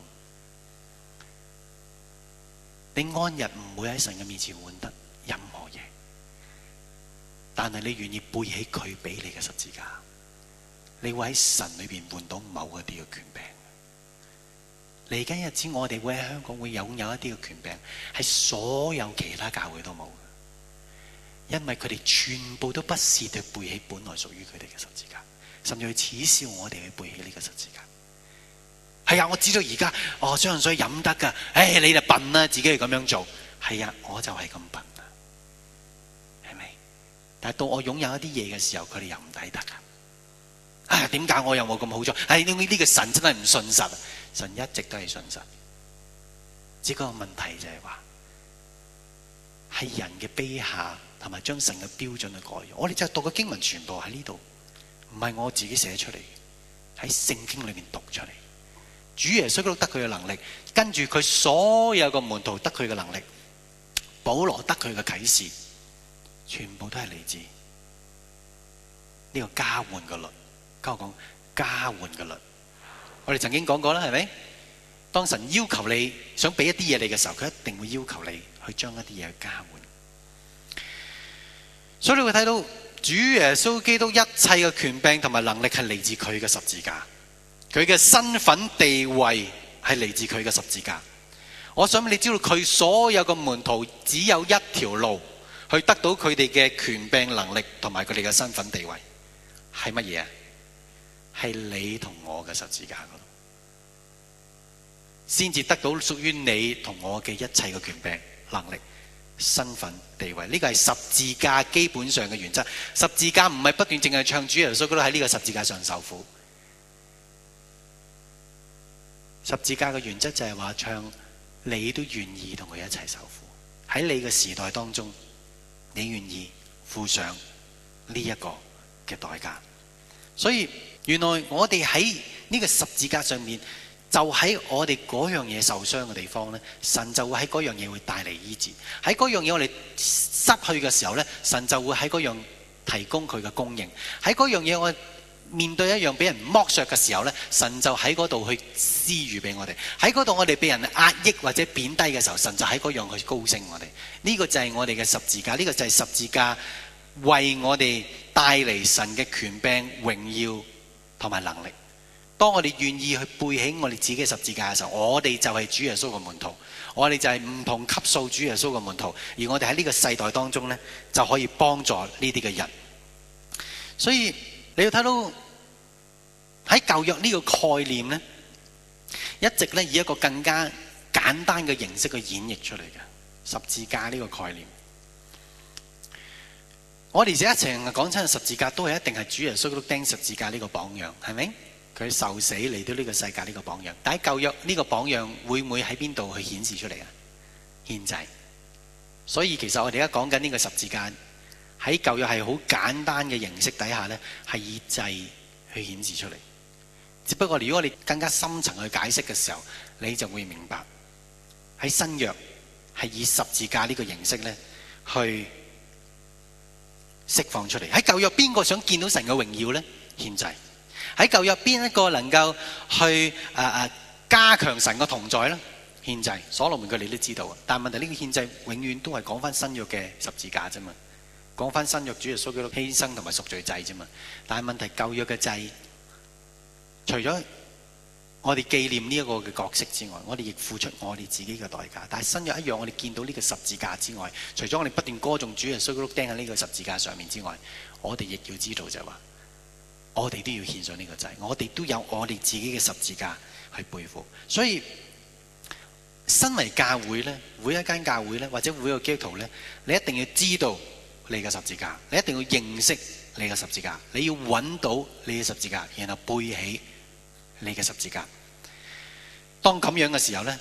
你安日唔會喺神嘅面前換得任何嘢，但係你願意背起佢俾你嘅十字架，你會喺神裏邊換到某一啲嘅權柄。嚟緊日子我哋會喺香港會擁有一啲嘅權柄，係所有其他教會都冇。因為佢哋全部都不屑地背起本來屬於佢哋嘅十字架，甚至去恥笑我哋去背起呢個十字架。係啊，我知道而家我相信水飲得噶，唉，你就笨啦，自己去咁樣做。係啊，我就係咁笨啦，係咪？但係到我擁有一啲嘢嘅時候，佢哋又唔抵得噶。啊，點解我又冇咁好彩？唉，呢呢個神真係唔信實，神一直都係信實。只個問題就係話，係人嘅卑下。同埋將神嘅標準去改咗，我哋就讀嘅經文全部喺呢度，唔係我自己寫出嚟，喺聖經裏面讀出嚟。主耶穌都得佢嘅能力，跟住佢所有嘅門徒得佢嘅能力，保羅得佢嘅啟示，全部都係嚟自呢個交換嘅律。跟我講交換嘅律，我哋曾經講過啦，係咪？當神要求你想俾一啲嘢你嘅時候，佢一定會要求你去將一啲嘢去交換。所以你會睇到主耶穌基督一切嘅權柄同埋能力係嚟自佢嘅十字架，佢嘅身份地位係嚟自佢嘅十字架。我想你知道佢所有嘅門徒只有一條路去得到佢哋嘅權柄能力同埋佢哋嘅身份地位，係乜嘢啊？係你同我嘅十字架嗰度，先至得到屬於你同我嘅一切嘅權柄能力。身份地位，呢個係十字架基本上嘅原則。十字架唔係不斷淨係唱主耶穌喺呢個十字架上受苦。十字架嘅原則就係話唱你都願意同佢一齊受苦。喺你嘅時代當中，你願意付上呢一個嘅代價。所以原來我哋喺呢個十字架上面，就喺我哋嗰樣嘢受傷嘅地方呢，神就會喺嗰樣嘢會帶嚟醫治。喺嗰樣嘢我哋失去嘅時候呢，神就會喺嗰樣提供佢嘅供應。喺嗰樣嘢我面對一樣俾人剝削嘅時候呢，神就喺嗰度去施予俾我哋。喺嗰度我哋俾人壓抑或者貶低嘅時候，神就喺嗰樣去高升我哋。呢個就係我哋嘅十字架，呢個就係十字架為我哋帶嚟神嘅權柄、榮耀同埋能力。當我哋願意去背起我哋自己嘅十字架嘅時候，我哋就係主耶穌嘅門徒，我哋就係唔同級數主耶穌嘅門徒，而我哋喺呢個世代當中呢，就可以幫助呢啲嘅人。所以你要睇到喺舊約呢個概念呢，一直呢以一個更加簡單嘅形式去演繹出嚟嘅十字架呢個概念。我哋而家成日講親十字架，都係一定係主耶穌都釘十字架呢個榜樣，係咪？佢受死嚟到呢個世界呢個榜樣，但喺舊約呢個榜樣會唔會喺邊度去顯示出嚟啊？獻祭。所以其實我哋而家講緊呢個十字架喺舊約係好簡單嘅形式底下呢，係以祭去顯示出嚟。只不過如果我哋更加深層去解釋嘅時候，你就會明白喺新約係以十字架呢個形式呢去釋放出嚟。喺舊約邊個想見到神嘅榮耀呢？獻祭。喺舊約邊一個能夠去誒誒、呃、加強神嘅同在呢？獻祭。所羅門佢哋都知道，但係問題呢個獻祭永遠都係講翻新約嘅十字架啫嘛，講翻新約主耶穌基督犧牲同埋贖罪祭啫嘛。但係問題舊約嘅祭，除咗我哋紀念呢一個嘅角色之外，我哋亦付出我哋自己嘅代價。但係新約一樣，我哋見到呢個十字架之外，除咗我哋不斷歌頌主耶穌基督釘喺呢個十字架上面之外，我哋亦要知道就係話，我哋都要獻上呢個祭，我哋都有我哋自己嘅十字架去背負。所以身為教會呢，每一間教會呢，或者每一個基督徒呢，你一定要知道你嘅十字架，你一定要認識你嘅十字架，你要揾到你嘅十字架，然後背起你嘅十字架。當咁樣嘅時候呢，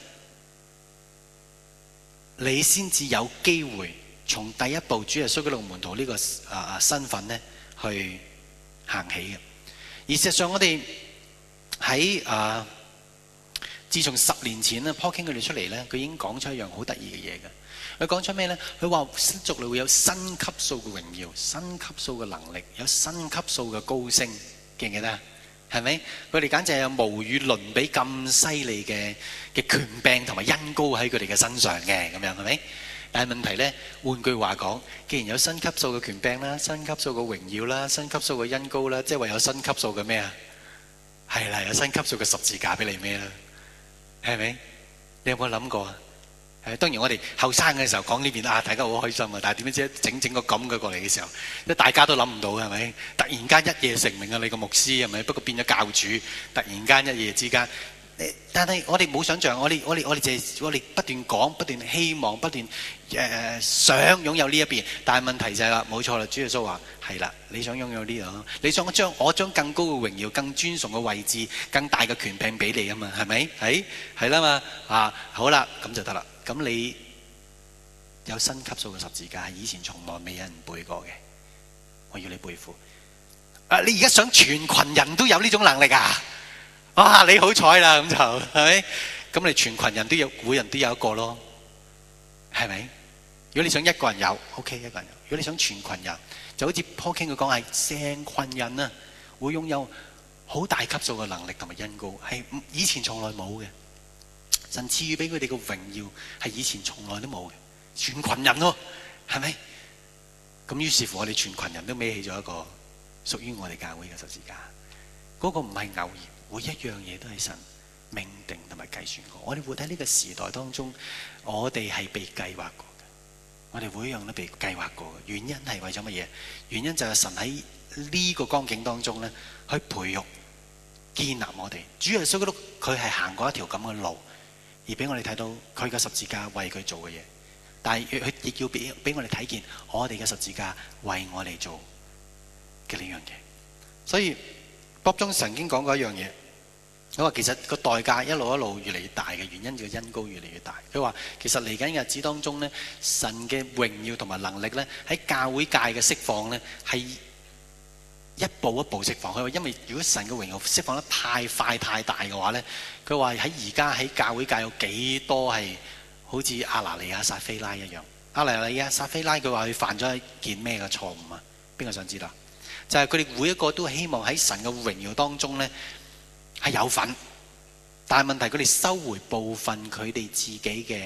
你先至有機會從第一步主耶穌基督門徒呢個啊身份呢去行起嘅。而事實上我哋喺啊自從十年前咧 Paul King 佢哋出嚟呢，佢已經講出一樣好得意嘅嘢嘅。佢講出咩呢？佢話新族裏會有新級數嘅榮耀、新級數嘅能力、有新級數嘅高升，記唔記得？係咪？佢哋簡直係有無與倫比咁犀利嘅嘅權柄同埋恩膏喺佢哋嘅身上嘅，咁樣係咪？但係問題呢，換句話講，既然有新級數嘅權柄啦、新級數嘅榮耀啦、新級數嘅恩膏啦，即係話有新級數嘅咩啊？係啦，有新級數嘅十字架俾你咩啦？係咪？你有冇諗過啊？誒，當然我哋後生嘅時候講呢邊啊，大家好開心啊！但係點樣知整整個咁嘅過嚟嘅時候，即大家都諗唔到嘅係咪？突然間一夜成名啊！你個牧師係咪？不過變咗教主，突然間一夜之間。但係我哋冇想象，我哋我哋我哋淨係我哋不斷講，不斷希望，不斷誒、呃、想擁有呢一邊。但係問題就係、是、啦，冇錯啦，主耶穌話係啦，你想擁有呢度，你想將我將更高嘅榮耀、更尊崇嘅位置、更大嘅權柄俾你啊嘛，係咪？係係啦嘛啊，好啦，咁就得啦。咁你有新級數嘅十字架，係以前從來未有人背過嘅，我要你背負。啊，你而家想全群人都有呢種能力啊？哇！你好彩啦，咁就係咪？咁你全群人都有，每人都有一個咯，係咪？如果你想一個人有 ，OK， 一個人有；如果你想全群人，就好似 Paul King佢講係成群人啊，會擁有好大級數嘅能力同埋恩膏，係以前從來冇嘅。神賜予俾佢哋嘅榮耀係以前從來都冇嘅，全群人咯，係咪？咁於是乎我哋全群人都孭起咗一個屬於我哋教會嘅十字架，嗰個唔係偶然。每一樣嘢都係神命定同埋計算過。我哋活喺呢個時代當中，我哋係被計劃過嘅。我哋每一樣都被計劃過嘅。原因係為咗乜嘢？原因就係神喺呢個光景當中咧，去培育、建立我哋。主耶穌基督佢係行過一條咁嘅路，而俾我哋睇到佢嘅十字架為佢做嘅嘢。但係佢亦要俾俾我哋睇見我哋嘅十字架為我哋做嘅呢樣嘢。所以 Bob Jones曾經講過一樣嘢。佢話其實個代價一路一路越嚟越大嘅原因，就係恩膏越嚟越大。佢話其實嚟緊日子當中咧，神嘅榮耀同埋能力咧，喺教會界嘅釋放咧，係一步一步釋放。佢話因為如果神嘅榮耀釋放得太快太大嘅話咧，佢話喺而家喺教會界有幾多係好似亞拿尼亞撒非拉一樣。亞拿尼亞撒非拉佢話佢犯咗一件咩嘅錯誤啊？邊個想知道？就係佢哋每一個都希望喺神嘅榮耀當中咧，係有份，但係問題佢哋收回部分佢哋自己嘅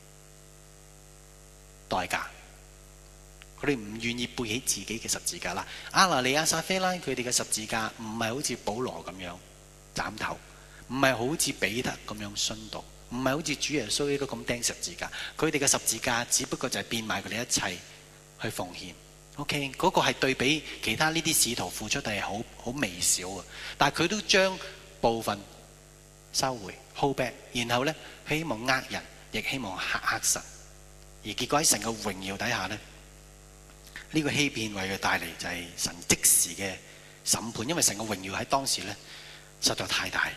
代價，佢哋唔願意背起自己嘅十字架啦。亞拿尼亞撒非拉佢哋嘅十字架唔係好似保羅咁樣斬頭，唔係好似彼得咁樣殉道，唔係好似主耶穌都咁釘十字架。佢哋嘅十字架只不過就係變賣佢哋一切去奉獻。OK， 嗰個係對比其他呢啲使徒付出係好好微小嘅，但係佢都將部分收回 hold back， 然後咧希望呃人，亦希望嚇嚇神，而結果喺神嘅榮耀底下咧，呢個欺騙為佢帶嚟就係神即時嘅審判，因為神嘅榮耀喺當時咧實在太大。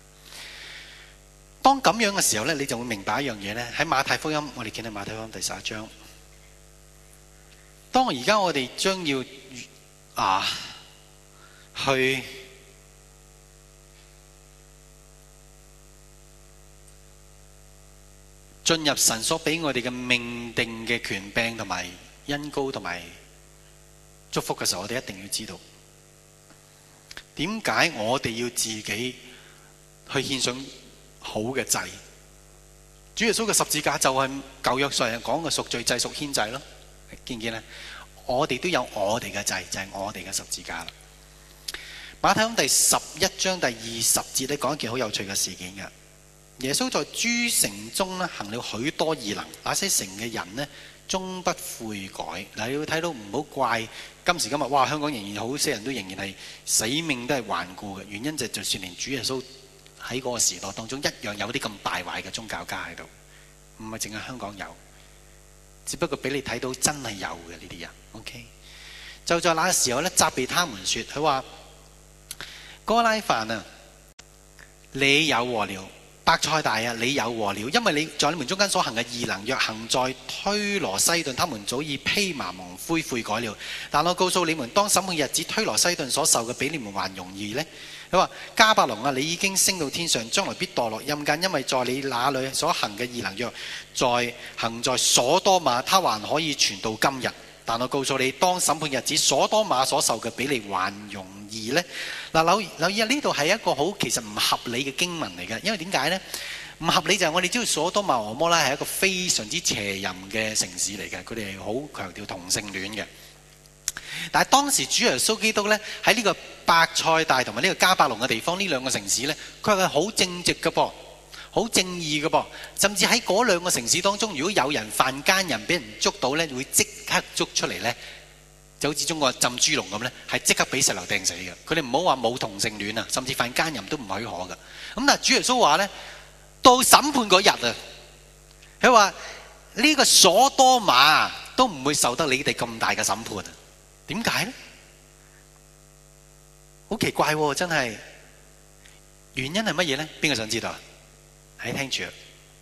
當咁樣嘅時候咧，你就會明白一樣嘢咧。喺馬太福音，我哋見到馬太福音第十一章。當而家我哋將要啊去進入神所俾我哋嘅命定嘅權柄同埋恩膏同埋祝福嘅時候，我哋一定要知道點解我哋要自己去獻上好嘅祭。主耶穌嘅十字架就係舊約上人講嘅贖罪祭、贖愆祭咯。見唔見咧？我哋都有我哋嘅祭，就係、是、我哋嘅十字架啦。馬太福音第十一章第二十節咧，講一件好有趣嘅事件嘅。耶穌在諸城中咧行了許多異能，那些城嘅人呢終不悔改。嗱，你會睇到唔好怪今時今日，哇！香港仍然好些人都仍然係死命都係頑固嘅，原因就係就算連主耶穌喺嗰個時代當中一樣有啲咁敗壞嘅宗教家喺度，唔係淨係香港有。只不過俾你睇到真係有嘅呢啲人 ，OK？ 就在那個時候咧，責備他們說：佢話哥拉犯啊， 你有禍了，伯賽大啊！你有禍了，因為你在你們中間所行嘅異能，若行在推羅西頓，他們早已披麻蒙灰悔改了。但我告訴你們，當審判日子，推羅西頓所受嘅比你們還容易呢。佢話迦百農啊，你已經升到天上，將來必墮落陰間，因為在你那裏所行嘅異能，若在行在所多瑪，他還可以傳到今日。但我告訴你，當審判日子，所多瑪所受嘅比你還容易呢。嗱，留留意啊，呢度係一個好其實唔合理嘅經文嚟嘅，因為點解呢？唔合理就係我哋知道所多瑪俄摩拉係一個非常之邪淫嘅城市嚟嘅，佢哋係好強調同性戀嘅。但係當時主耶穌基督咧喺呢個伯賽大同埋呢個迦百農嘅地方，呢兩個城市咧，佢係好正直嘅噃，好正義嘅噃，甚至喺嗰兩個城市當中，如果有人犯奸淫俾人捉到咧，會即刻捉出嚟咧，就好似中國浸豬籠咁咧，係即刻俾石頭掟死嘅。佢哋唔好話冇同性戀啊，甚至犯奸淫都唔許可嘅。咁但係主耶穌話咧，到審判嗰日啊，佢話呢個所多瑪都唔會受得你哋咁大嘅審判啊！點解呢？好奇怪喎，真係。原因係乜嘢呢？邊個想知道啊？喺聽住。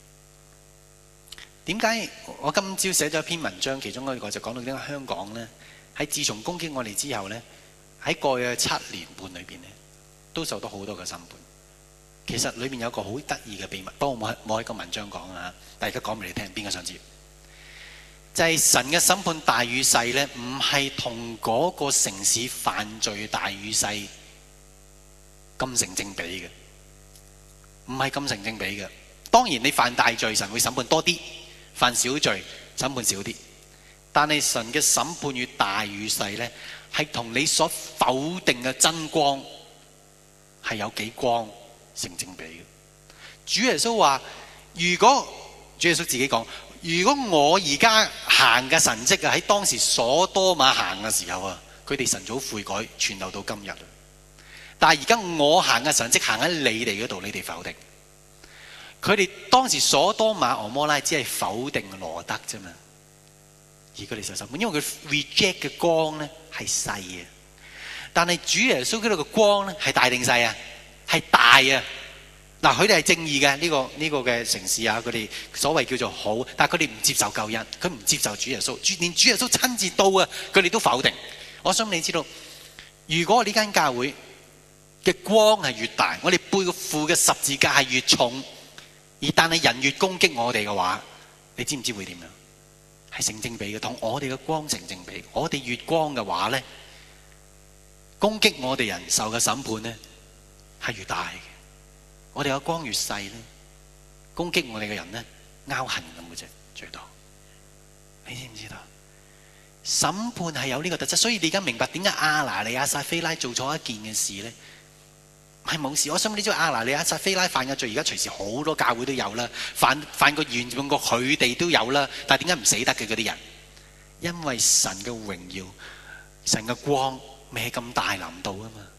點解我今朝寫咗一篇文章，其中一個就講到點解香港呢，喺自從攻擊我哋之後呢，喺過去嘅七年半裏邊呢，都受到好多嘅審判。其實裏面有個好得意嘅秘密，不過冇冇喺個文章講啊，但係而家講俾你聽，邊個想知？就係神嘅審判大與細呢，唔係同嗰個城市犯罪大與細咁成正比嘅，唔係咁成正比嘅。當然你犯大罪，神會審判多啲；犯小罪，審判少啲。但係神嘅審判與大與細呢，係同你所否定嘅真光係有幾光成正比嘅。主耶穌話：如果主耶穌自己講。如果我而家行嘅神蹟啊，喺當時所多瑪行嘅時候啊，佢哋晨早悔改，傳流到今日。但係而家我行嘅神蹟行喺你哋嗰度，你哋否定。佢哋當時所多瑪俄摩拉只係否定羅德啫嘛，而佢哋受審判，因為佢 reject 嘅光咧係細嘅。但係主耶穌基督嘅光咧係大定細啊？係大啊！嗱，佢哋係正義嘅呢個呢個嘅城市啊，佢哋所謂叫做好，但係佢哋唔接受救恩，佢唔接受主耶穌，連主耶穌親自到啊，佢哋都否定。我想你知道，如果呢間教會嘅光係越大，我哋背負嘅十字架係越重，而但係人越攻擊我哋嘅話，你知唔知會點樣？係成正比嘅，同我哋嘅光成正比。我哋越光嘅話咧，攻擊我哋人受嘅審判咧係越大嘅。我哋個光越細咧，攻擊我哋嘅人咧，拗痕咁嘅啫，最多。你知唔知道？審判係有呢個特質，所以你而家明白點解亞拿尼亞撒非拉做錯一件嘅事咧？係冇事。我想你知道亞拿尼亞撒非拉犯嘅罪，而家隨時好多教會都有啦，犯犯過嚴重過佢哋都有啦。但係點解唔死得嘅嗰啲人？因為神嘅榮耀、神嘅光未係咁大臨到啊嘛。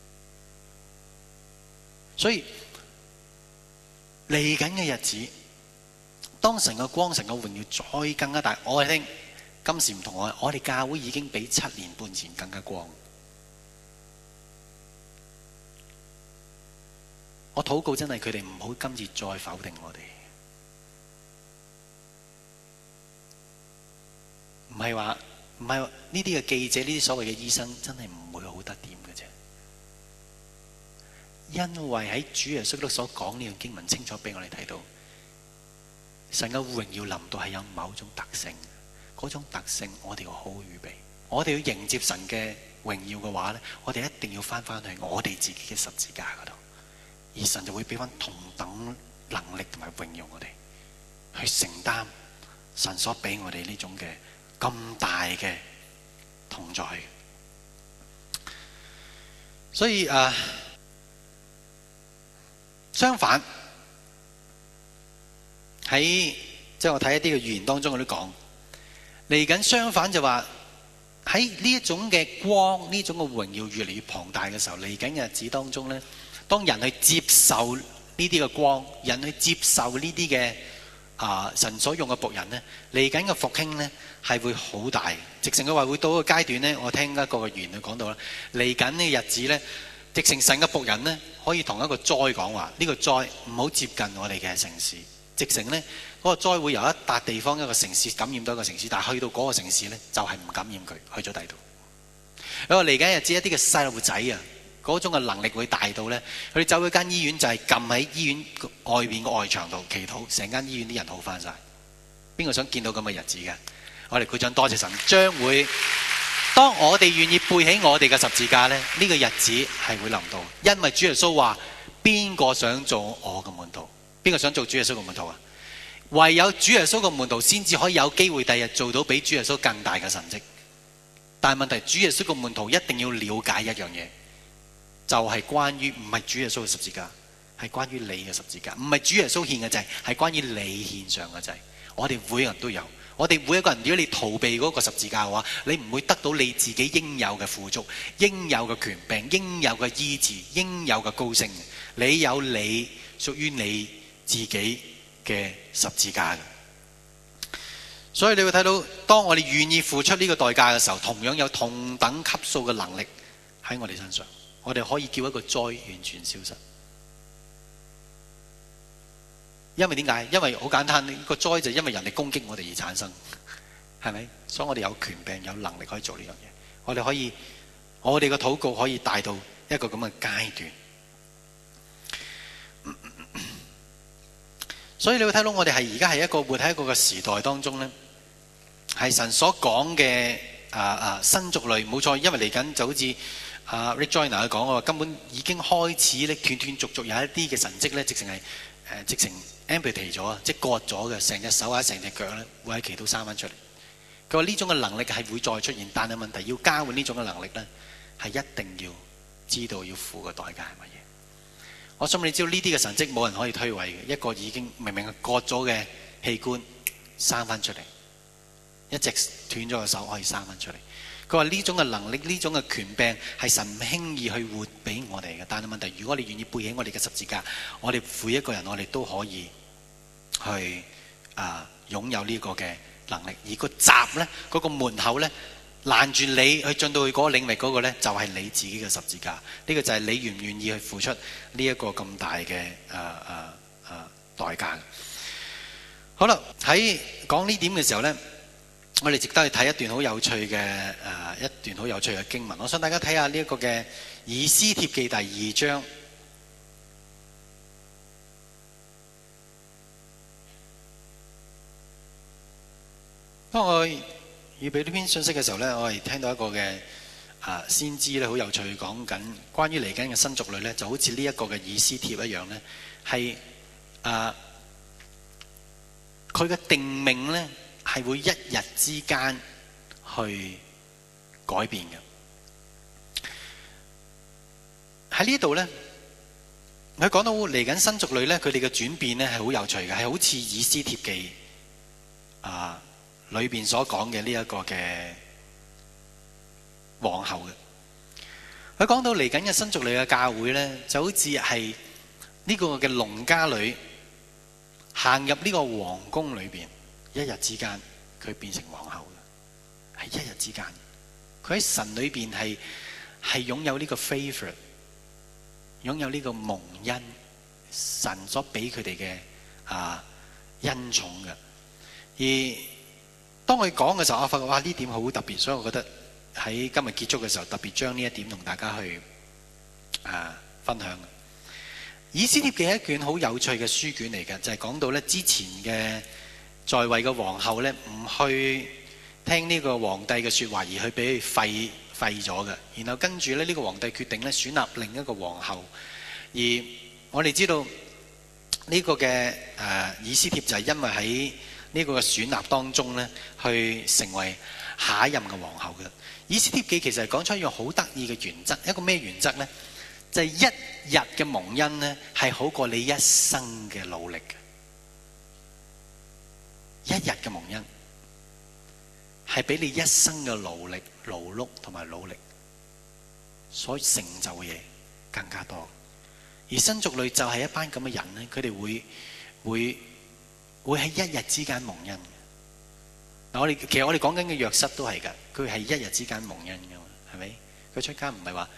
所以嚟緊嘅日子，當神嘅光、神嘅榮耀再更加大，我哋聽今時唔同我，我哋教會已經比七年半前更加光。我禱告真係佢哋唔好今次再否定我哋，唔係話唔係話呢啲嘅記者、呢啲所謂嘅醫生真係唔會好得掂嘅啫。因為喺主耶穌所講呢樣經文清楚俾我哋睇到，神嘅榮耀臨到係有某種特性，嗰種特性我哋要好好預備。我哋要迎接神嘅榮耀嘅話咧，我哋一定要翻翻去我哋自己嘅十字架嗰度，而神就會俾翻同等能力同埋榮耀我哋去承擔神所俾我哋呢種嘅咁大嘅同在。所以誒。Uh, 相反，喺即係我睇一啲嘅預言當中，我都講嚟緊。相反就話喺呢一種嘅光、呢種嘅榮耀越嚟越龐大嘅時候，嚟緊嘅日子當中咧，當人去接受呢啲嘅光，人去接受呢啲嘅啊神所用嘅僕人咧，嚟緊嘅復興咧係會好大。直情佢話會到一個階段咧，我聽一個嘅預言佢講到啦，嚟緊呢個日子咧。 直情神嘅僕人呢，可以同一個災講話，呢個災唔好接近我哋嘅城市。直情呢，嗰個災會由一笪地方一個城市感染到一個城市，但係去到嗰個城市呢，就係唔感染佢，去咗第二度。因為嚟緊日子一啲嘅細路仔啊，嗰種嘅能力會大到呢，佢哋走去間醫院就係撳喺醫院外邊個外牆度祈禱，成間醫院啲人好翻晒。邊個想見到咁嘅日子嘅？我哋鼓掌多謝神，將會當我哋願意背起我哋嘅十字架呢，呢個日子係會臨到。因為主耶穌話：邊個想做我嘅門徒？邊個想做主耶穌嘅門徒啊？唯有主耶穌嘅門徒先至可以有機會第日做到比主耶穌更大嘅神蹟。但係問題，主耶穌嘅門徒一定要了解一樣嘢，就係關於唔係主耶穌嘅十字架，係關於你嘅十字架。唔係主耶穌獻嘅祭，係關於你獻上嘅祭。我哋每個人都有，我哋每一個人，如果你逃避嗰個十字架嘅話，你唔會得到你自己應有嘅富足、應有嘅權柄、應有嘅醫治、應有嘅高升。你有你屬於你自己嘅十字架。所以你會睇到，當我哋願意付出呢個代價嘅時候，同樣有同等級數嘅能力喺我哋身上，我哋可以叫一個災完全消失。因為點解？因為好簡單，呢個災就因為人哋攻擊我哋而產生，係咪？所以我哋有權柄、有能力可以做呢樣嘢。我哋可以，我哋嘅禱告可以帶到一個咁嘅階段。所以你會睇到，我哋係而家係一個活喺一個嘅時代當中呢，係神所講嘅啊啊新族類，冇錯。因為嚟緊就好似啊 Rick Joyner 佢講話，根本已經開始咧斷斷續續有一啲嘅神蹟咧，直情係誒直情 amputate 咗啊，即係割咗嘅，成隻手或者成隻腳咧會喺祈禱生翻出嚟。佢話呢種嘅能力係會再出現，但係問題要交換呢種嘅能力咧，係一定要知道要付嘅代價係乜嘢。我想你知道呢啲嘅神蹟冇人可以推諉嘅，一個已經明明係割咗嘅器官生翻出嚟，一直斷咗個手可以生翻出嚟。佢話呢種嘅能力，呢種嘅權柄係神唔輕易去活俾我哋嘅。但係問題，如果你願意背起我哋嘅十字架，我哋每一個人我哋都可以去啊擁有呢個嘅能力。而個閘呢，嗰個門口呢，攔住你去進到去嗰個領域嗰個呢，就係你自己嘅十字架。呢個就係你願唔願意去付出呢一個咁大嘅誒誒誒代價。好啦，喺講呢點嘅時候呢，我哋值得去睇一段好有趣嘅誒一段好有趣嘅經文。我想大家睇下呢一個嘅以斯帖記第二章。當我預備呢篇信息嘅時候呢，我係聽到一個嘅啊先知咧，好有趣講緊關於嚟緊嘅新族類呢，就好似呢一個嘅以斯帖一樣呢，係啊佢嘅定命呢，係會一日之間去改變嘅。喺呢度呢，佢講到嚟緊新族類呢，佢哋嘅轉變呢係好有趣嘅，係好似以斯帖記啊裏邊所講嘅呢一個嘅皇后嘅。佢講到嚟緊嘅新族類嘅教會呢，就好似係呢個嘅農家女行入呢個皇宮裏邊，一日之間佢變成皇后嘅，係一日之間。佢喺神裏邊係係擁有呢個 favor， 擁有呢個蒙恩，神所俾佢哋嘅啊恩寵嘅。而當佢講嘅時候，我發覺哇呢點好特別，所以我覺得喺今日結束嘅時候，特別將呢一點同大家去啊分享。以斯帖記係一卷好有趣嘅書卷嚟嘅，就係、是、講到咧之前嘅在位嘅皇后咧唔去聽呢個皇帝嘅說話，而去俾佢廢廢咗嘅。然後跟住咧呢、這個皇帝決定咧選立另一個皇后。而我哋知道呢個嘅誒、呃、以斯帖就係因為喺呢個嘅選立當中咧，去成為下一任嘅皇后嘅。以斯帖記其實係講出一樣好得意嘅原則，一個咩原則呢？就係、是、一日嘅蒙恩呢，係好過你一生嘅努力嘅。一日嘅蒙恩係比你一生嘅努力、勞碌同埋努力所成就嘅嘢更加多。而新族類就係一班咁嘅人呢，佢哋會會。會喺一日之間蒙恩嘅。嗱，我哋其實我哋講緊嘅約瑟都係㗎，佢係一日之間蒙恩㗎嘛，係咪？佢出街唔係話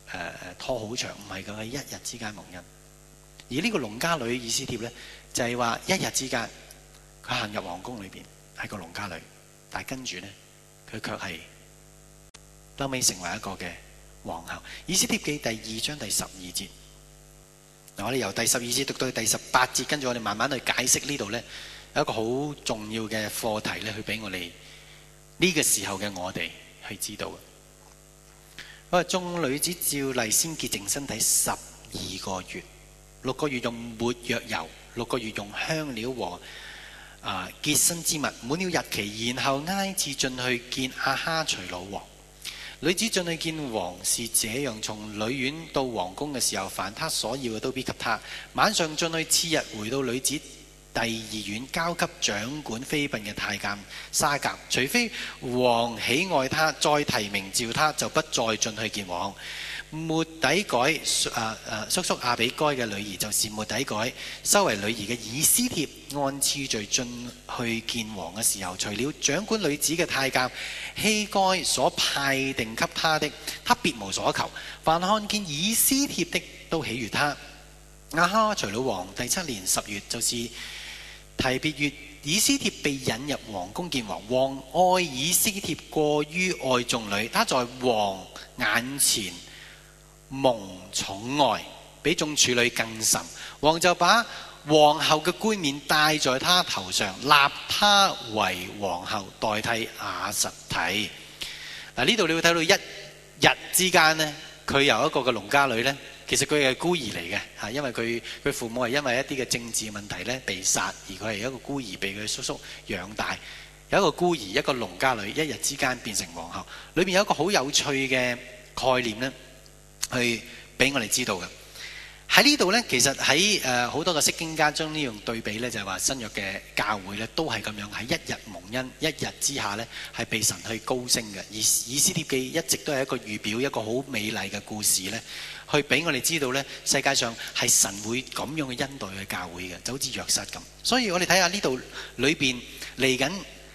誒拖好長，唔係佢係一日之間蒙恩。而呢個農家女以斯帖咧，就係話一日之間佢行入皇宮裏邊係個農家女，但係跟住咧佢卻係後尾成為一個嘅皇后。以斯帖記第二章第十二節，嗱，我哋由第十二節讀到第十八節，跟住我哋慢慢去解釋呢度咧有一個好重要嘅課題咧，去俾我哋呢個時候嘅我哋去知道。我話眾女子照例先潔淨身體十二個月。六個月用沒藥油，六個月用香料和啊潔身之物，滿了日期，然後挨次進去見亞哈隨魯王。女子進去見王是這樣：從女院到皇宮嘅時候，凡他所要嘅都必給他。晚上進去，次日回到女子第二院，交給掌管妃嬪嘅太監沙甲。除非王喜愛他，再提名召他，就不再進去見王。末底改啊啊叔叔亞比該嘅女兒，就是末底改收為女兒嘅以斯帖，按次序進去見王嘅時候，除了掌管女子嘅太監希該所派定給他的，他別無所求。凡看見以斯帖的，都喜悅他。亞哈隨魯王第七年十月，就是提別月，以斯帖被引入皇宮見王。王愛以斯帖過於愛眾女，他在王眼前蒙寵愛，比眾處女更甚。王就把皇后嘅冠冕戴在她頭上，立她為皇后，代替瓦實提。嗱，呢度你會睇到一日之間呢，佢由一個嘅農家女呢，其實佢係孤兒嚟嘅嚇，因為佢佢父母係因為一啲嘅政治問題呢被殺，而佢係一個孤兒被佢叔叔養大。有一個孤兒，一個農家女，一日之間變成皇后，裏面有一個好有趣嘅概念呢，去俾我哋知道嘅。喺呢度呢，其實喺誒好多嘅釋經家將呢樣對比呢，就係話新約嘅教會呢都係咁樣，喺一日蒙恩，一日之下呢係被神去高升嘅。而以斯帖記一直都係一個預表，一個好美麗嘅故事呢，去俾我哋知道呢，世界上係神會咁樣嘅恩待嘅教會嘅，就好似約瑟咁。所以我哋睇下呢度裏邊嚟緊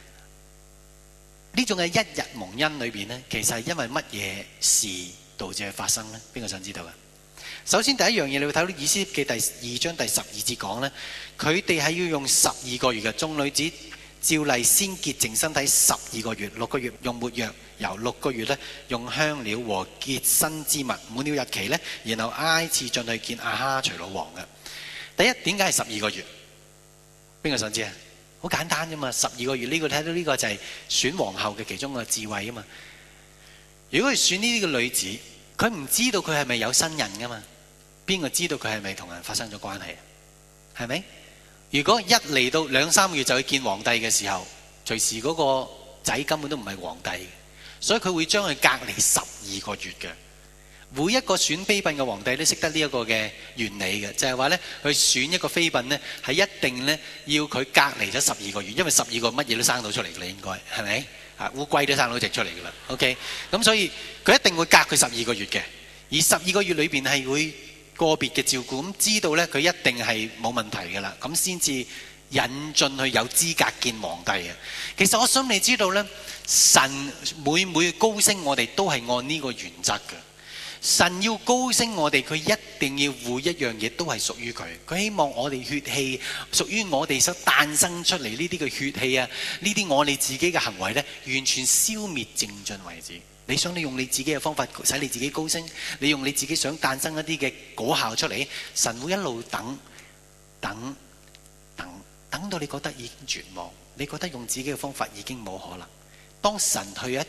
呢種嘅一日蒙恩裏邊呢，其實係因為乜嘢事導致佢發生呢？邊個想知道嘅？首先第一樣嘢，你會睇到以斯帖記第二章第十二節講呢，佢哋係要用十二個月嘅，眾女子照例先潔淨身體十二個月，六個月用沒藥油，六個月呢用香料和潔身之物，滿了日期呢，然後挨次進去見亞哈隨魯王嘅。第一，點解係十二個月？邊個想知啊？好簡單啫嘛，十二個月呢個睇到呢個就係選皇后嘅其中個智慧啊嘛。如果佢選呢啲嘅女子，佢唔知道佢係咪有新人噶嘛？邊個知道佢係咪同人發生咗關係？係咪？如果一嚟到兩三個月就去見皇帝嘅時候，隨時嗰個仔根本都唔係皇帝，所以佢會將佢隔離十二個月嘅。每一個選妃嬪嘅皇帝都識得呢一個嘅原理嘅，就係話呢，去選一個妃嬪呢，係一定呢要佢隔離咗十二個月，因為十二個乜嘢都生到出嚟嘅啦，應該係咪？啊，烏龜都生到隻出嚟嘅啦。OK，咁所以佢一定會隔佢十二個月嘅，而十二個月裏邊係會個別嘅照顧，咁知道呢，佢一定係冇問題嘅啦，咁先至引進去有資格見皇帝嘅。其實我想你知道呢，神每每高升我哋都係按呢個原則嘅。神要高升我哋，佢一定要每一樣嘢都係屬於佢。佢希望我哋血氣屬於我哋所誕生出嚟呢啲嘅血氣啊，呢啲我哋自己嘅行為呢，完全消滅淨盡為止。你想你用你自己嘅方法使你自己高升，你用你自己想誕生一啲嘅果效出嚟，神會一路等等等等到你覺得已經絕望，你覺得用自己嘅方法已經冇可能。當神去一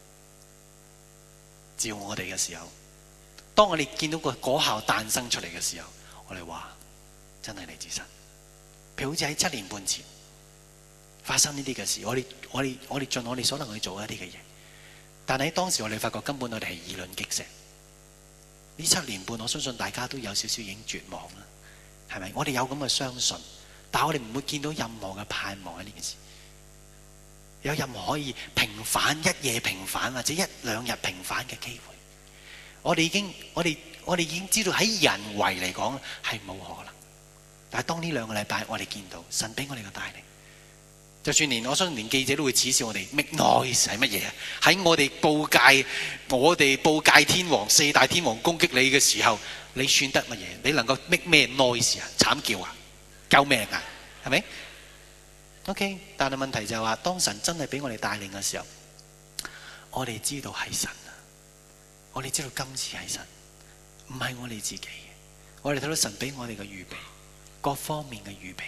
照我哋嘅時候，當我哋見到個果效誕生出嚟嘅時候，我哋話真係嚟自神。譬如好似喺七年半前發生呢啲嘅事，我哋我哋我哋盡我哋所能去做一啲嘅嘢，但係喺當時我哋發覺根本我哋係以卵擊石。呢七年半，我相信大家都有少少已經絕望啦，係咪？我哋有咁嘅相信，但係我哋唔會見到任何嘅盼望喺呢件事，有任何可以平反一夜平反或者一兩日平反嘅機會。我哋已經，我哋我哋已經知道喺人為嚟講係冇可能。但係當呢兩個禮拜我哋見到神俾我哋嘅帶領， 就算連我相信連記者都會恥笑我哋 make noise 係乜嘢啊？喺我哋報界，我哋報界天王四大天王攻擊你嘅時候，你算得乜嘢？你能夠 make 咩 noise 啊？慘叫啊？救命啊？係咪 ？OK， 但係問題就係話，當神真係俾我哋帶領嘅時候，我哋知道係神啊！我哋知道今次係神，唔係我哋自己嘅。我哋睇到神俾我哋嘅預備，各方面嘅預備。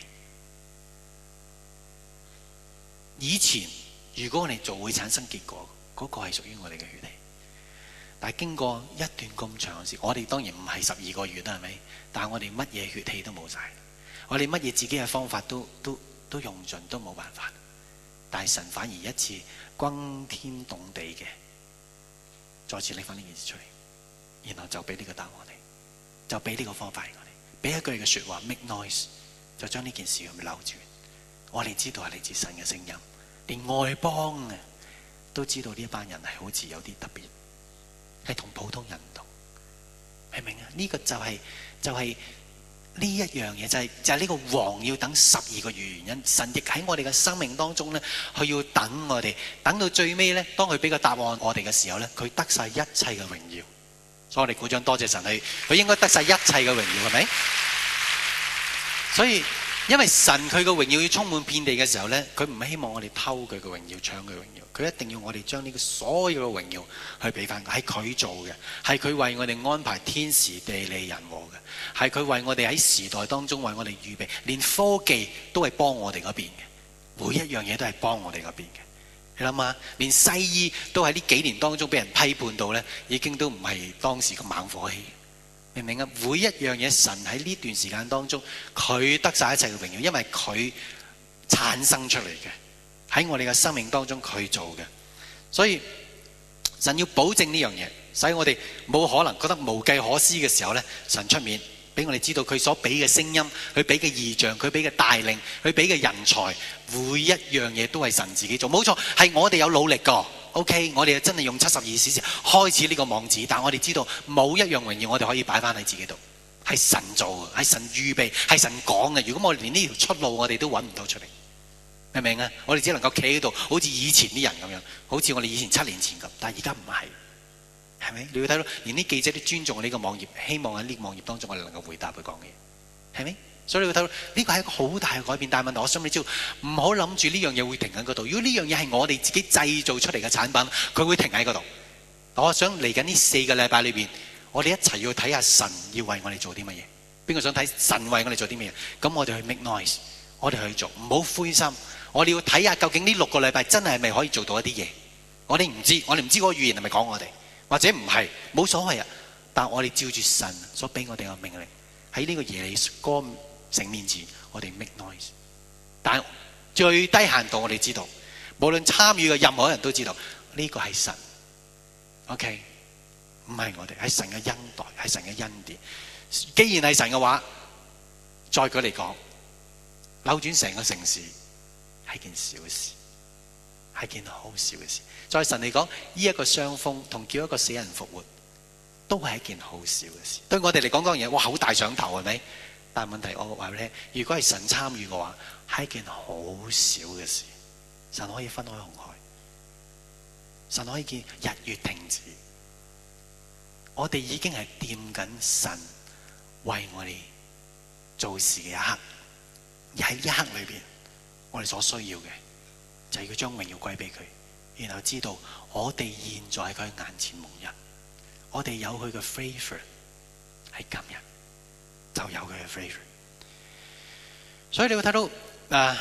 以前如果我哋做會產生結果，嗰個係屬於我哋嘅血氣。但係經過一段咁長嘅時，我哋當然唔係十二個月啦，係咪？但係我哋乜嘢血氣都冇晒，我哋乜嘢自己嘅方法都都都用盡，都冇辦法。但係神反而一次轟天動地嘅，再次拎翻呢件事出嚟，然後就俾呢個答案我哋，就俾呢個方法我哋，俾一句嘅說話 make noise， 就將呢件事咁扭轉。我哋知道係嚟自神嘅聲音，連外邦啊都知道呢一班人係好似有啲特別，係同普通人唔同，明唔明啊？呢、這個就係、是、就係、是、呢一樣嘢，就係、是、就係、是、呢個王要等十二個月原因。神亦喺我哋嘅生命當中咧，佢要等我哋，等到最尾咧，當佢俾個答案我哋嘅時候咧，佢得晒一切嘅榮耀。所以我哋鼓掌多謝神，佢佢應該得晒一切嘅榮耀，係咪？所以。因為神佢嘅榮耀要充滿遍地嘅時候呢，佢唔希望我哋偷佢嘅榮耀，搶佢榮耀，佢一定要我哋將呢個所有嘅榮耀去俾翻佢，係佢做嘅，係佢為我哋安排天時地利人和嘅，係佢為我哋喺時代當中為我哋預備，連科技都係幫我哋嗰邊嘅，每一樣嘢都係幫我哋嗰邊嘅。你諗下，連西醫都喺呢幾年當中俾人批判到呢，已經都唔係當時咁猛火氣。明唔明啊？每一樣嘢，神喺呢段時間當中，佢得晒一切嘅榮耀，因為佢產生出嚟嘅，喺我哋嘅生命當中佢做嘅，所以神要保證呢樣嘢，使我哋冇可能覺得無計可施嘅時候呢，神出面俾我哋知道佢所俾嘅聲音，佢俾嘅異象，佢俾嘅帶領，佢俾嘅人才，每一樣嘢都係神自己做，冇錯，係我哋有努力噶。OK， 我哋真係用七十二小時開始呢個網址，但我哋知道冇一樣榮耀我哋可以擺翻喺自己度，係神做嘅，係神預備，係神講嘅。如果我哋連呢條出路我哋都揾唔到出嚟，明唔明啊？我哋只能夠企喺度，好似以前啲人咁樣，好似我哋以前七年前咁，但係而家唔係，係咪？你要睇到連啲記者都尊重我呢個網頁，希望喺呢個網頁當中我哋能夠回答佢講嘅嘢，係咪？所以你會睇到呢個係一個好大嘅改變，但係問題我想你知道，唔好諗住呢樣嘢會停喺嗰度。如果呢樣嘢係我哋自己製造出嚟嘅產品，佢會停喺嗰度。我想嚟緊呢四個禮拜裏邊，我哋一齊要睇下神要為我哋做啲乜嘢。邊個想睇神為我哋做啲乜嘢？咁我哋去 make noise，我哋去做，唔好灰心。我哋要睇下究竟呢六個禮拜真係係咪可以做到一啲嘢？我哋唔知，我哋唔知嗰個語言係咪講我哋，或者唔係，冇所謂啊。但我哋照住神所俾我哋嘅命令，喺呢個耶利哥城面前，我哋 make noise。但最低限度，我哋知道，無論參與嘅任何人都知道，呢個係神。OK， 唔係我哋，係神嘅恩待，係神嘅恩典。既然係神嘅話，再舉嚟講，扭轉成個城市係件小事，係件好小嘅事。在神嚟講，呢一個傷風同叫一個死人復活，都係一件好小嘅事。對我哋嚟講，嗰樣嘢，哇，好大上頭，係咪？但係問題，我話俾你聽，如果係神參與嘅話，係一件好小嘅事。神可以分開紅海，神可以見日月停止。我哋已經係掂緊神為我哋做事嘅一刻，而喺呢一刻裏邊，我哋所需要嘅就係要將榮耀歸俾佢，然後知道我哋現在喺佢眼前蒙恩，我哋有佢嘅 favor 喺今日。就有佢嘅 favor， 所以你會睇到啊，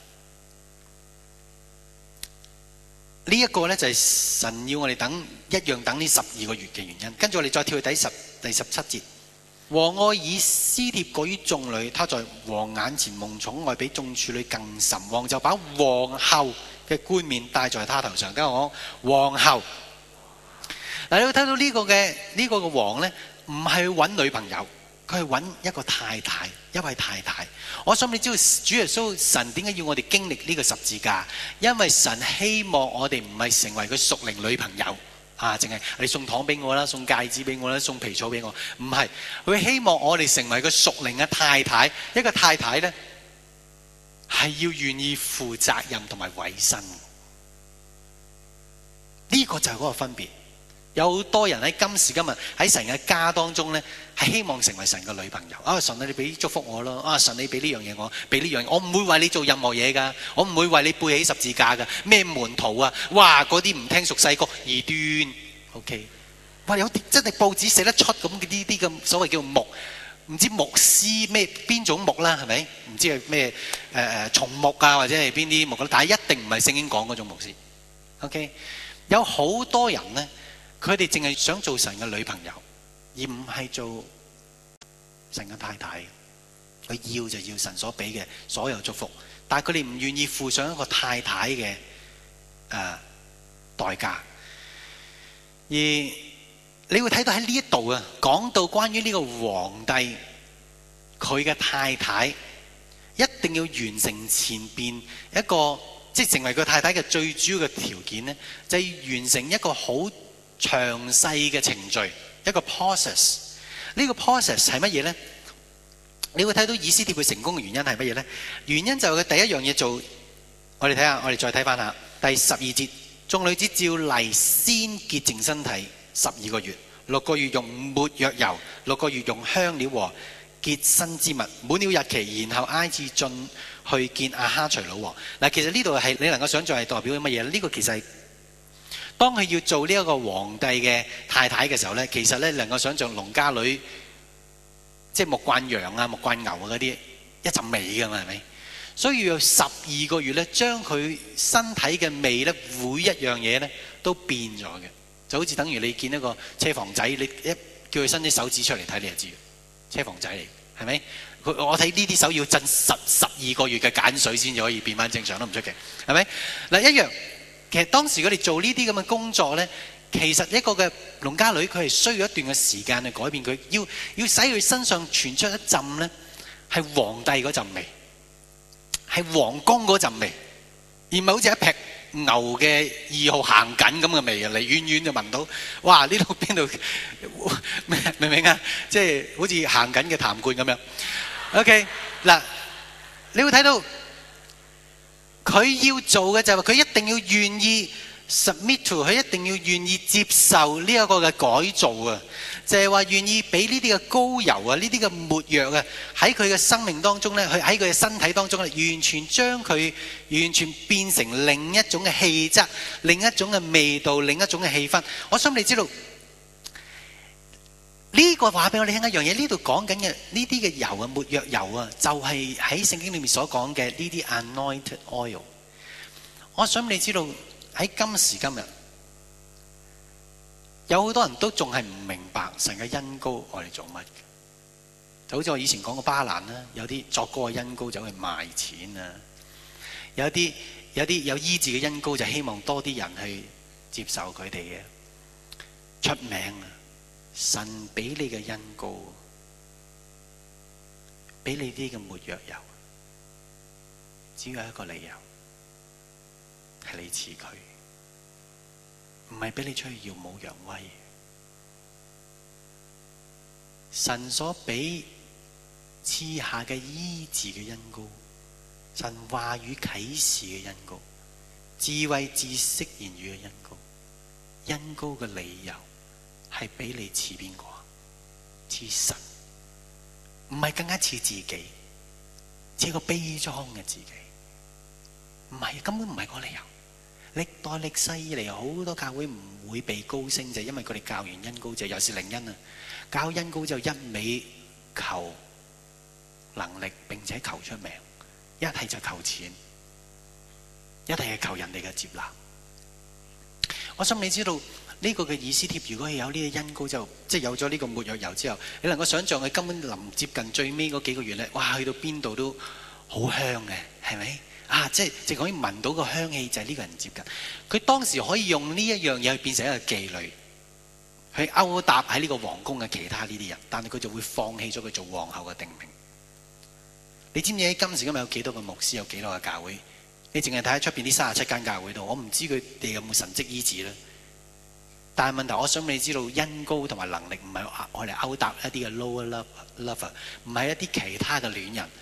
呢一個咧就係神要我哋等一樣等呢十二個月嘅原因。跟住我哋再跳去第十第十七節，王愛以施帖過於眾女，他在王眼前蒙寵愛，比眾處女更甚。王就把皇后嘅冠冕戴在他頭上。跟住我講皇后，嗱，你會睇到呢個嘅呢個嘅王咧，唔係去揾女朋友。佢係揾一個太太，一位太太。我想你知道主耶穌神點解要我哋經歷呢個十字架？因為神希望我哋唔係成為佢屬靈女朋友啊，淨係你送糖俾我啦，送戒指俾我啦，送皮草俾我。唔係，佢希望我哋成為佢屬靈嘅太太。一個太太呢， 係要願意負責任同埋委身。呢個就係嗰個分別。有好多人喺今時今日喺神嘅家當中呢，係希望成為神嘅女朋友。啊，神啊，你俾祝福我咯！啊，神你俾呢樣嘢我，俾呢樣嘢，我唔會為你做任何嘢噶，我唔會為你背起十字架噶。咩門徒啊？哇！嗰啲唔聽俗世歌，異端。OK， 哇！有啲真係報紙寫得出咁嘅呢啲咁所謂叫牧，唔知牧師咩邊種牧啦，係咪？唔知係咩誒誒松木啊，或者係邊啲牧啦？但係一定唔係聖經講嗰種牧師。OK， 有好多人呢。佢哋淨係想做神嘅女朋友，而唔係做神嘅太太。佢要就要神所俾嘅所有祝福，但係佢哋唔願意付上一個太太嘅誒、呃、代價。而你會睇到喺呢一度啊，講到關於呢個皇帝佢嘅太太一定要完成前邊一個，即係成為佢太太嘅最主要嘅條件呢，就係、是、完成一個好詳細嘅程序，一個 process。呢個 process 係乜嘢呢？你會睇到以斯帖佢成功嘅原因係乜嘢呢？原因就係佢第一樣嘢做，我哋睇下，我哋再睇翻下第十二節，眾女子照例先潔淨身體十二個月，六個月用沒藥油，六個月用香料和潔身之物，滿了日期，然後挨次進去見亞哈隨魯王。嗱，其實呢度係你能夠想象係代表乜嘢呢？呢個其實係當佢要做呢一個皇帝嘅太太嘅時候呢，其實呢能夠想象農家女，即係牧慣羊啊、牧慣牛啊嗰啲一陣味噶嘛，係咪？所以要十二個月呢，將佢身體嘅味呢，每一樣嘢呢都變咗嘅，就好似等於你見一個車房仔，你一叫佢伸隻手指出嚟睇，你就知車房仔嚟，係咪？我睇呢啲手要浸十十二個月嘅鹼水先至可以變翻正常，都唔出奇，係咪？嗱，一樣。其實當時佢哋做呢啲咁嘅工作呢，其實一個嘅農家女佢係需要一段嘅時間去改變佢，要要使佢身上傳出一陣呢係皇帝嗰陣味，係皇宮嗰陣味，而唔係好似一劈牛嘅二號行緊咁嘅味啊！你遠遠就聞到，哇！呢度邊度明唔明啊？即係好似行緊嘅痰罐咁樣。OK， 嗱，你會睇到。佢要做嘅就係佢一定要願意 submit to， 佢一定要願意接受呢一個嘅改造啊！就係話願意俾呢啲嘅膏油啊、呢啲嘅沒藥啊，喺佢嘅生命當中咧，佢喺佢嘅身體當中咧，完全將佢完全變成另一種嘅氣質、另一種嘅味道、另一種嘅氣氛。我想你知道呢個話俾我哋聽一樣嘢，呢度講緊嘅呢啲嘅油啊、沒藥油啊，就係喺聖經裏面所講嘅呢啲 anointed oil。我想你知道喺今時今日，有好多人都仲係唔明白神嘅恩膏我哋做乜嘅。就好似我以前講過巴蘭啦，有啲作歌嘅恩膏走去賣錢啊，有啲有啲有醫治嘅恩膏就希望多啲人去接受佢哋嘅出名啊。神俾你嘅恩膏，俾你啲嘅沒藥油，只有一個理由，係你似佢，唔係俾你出去耀武揚威。神所俾賜下嘅醫治嘅恩膏，神話語啟示嘅恩膏，智慧知識言語嘅恩膏，恩膏嘅理由。係俾你似邊個？似神，唔係更加似自己，似個悲壯嘅自己。唔係，根本唔係個理由。歷代歷世以嚟，好多教會唔會被高升，就係因為佢哋教完恩膏就又是靈恩啊！教恩膏就一味求能力，並且求出名，一係就求錢，一係係求人哋嘅接納。我想你知道。呢個嘅以斯帖，如果係有呢個恩膏就即係有咗呢個沒藥油之後，你能夠想象佢根本臨接近最尾嗰幾個月咧，哇！去到邊度都好香嘅，係咪啊？即係淨可以聞到個香氣，就係呢個人接近佢。當時可以用呢一樣嘢去變成一個妓女，去勾搭喺呢個皇宮嘅其他呢啲人，但係佢就會放棄咗佢做皇后嘅定名。你知唔知喺今時今日有幾多個牧師，有幾多個教會？你淨係睇喺出邊啲三十七間教會度，我唔知佢哋有冇神蹟醫治咧。但係問題，我想你知道恩膏同埋能力唔係我嚟勾搭一啲嘅 lower lover， 唔係一啲其他嘅戀人。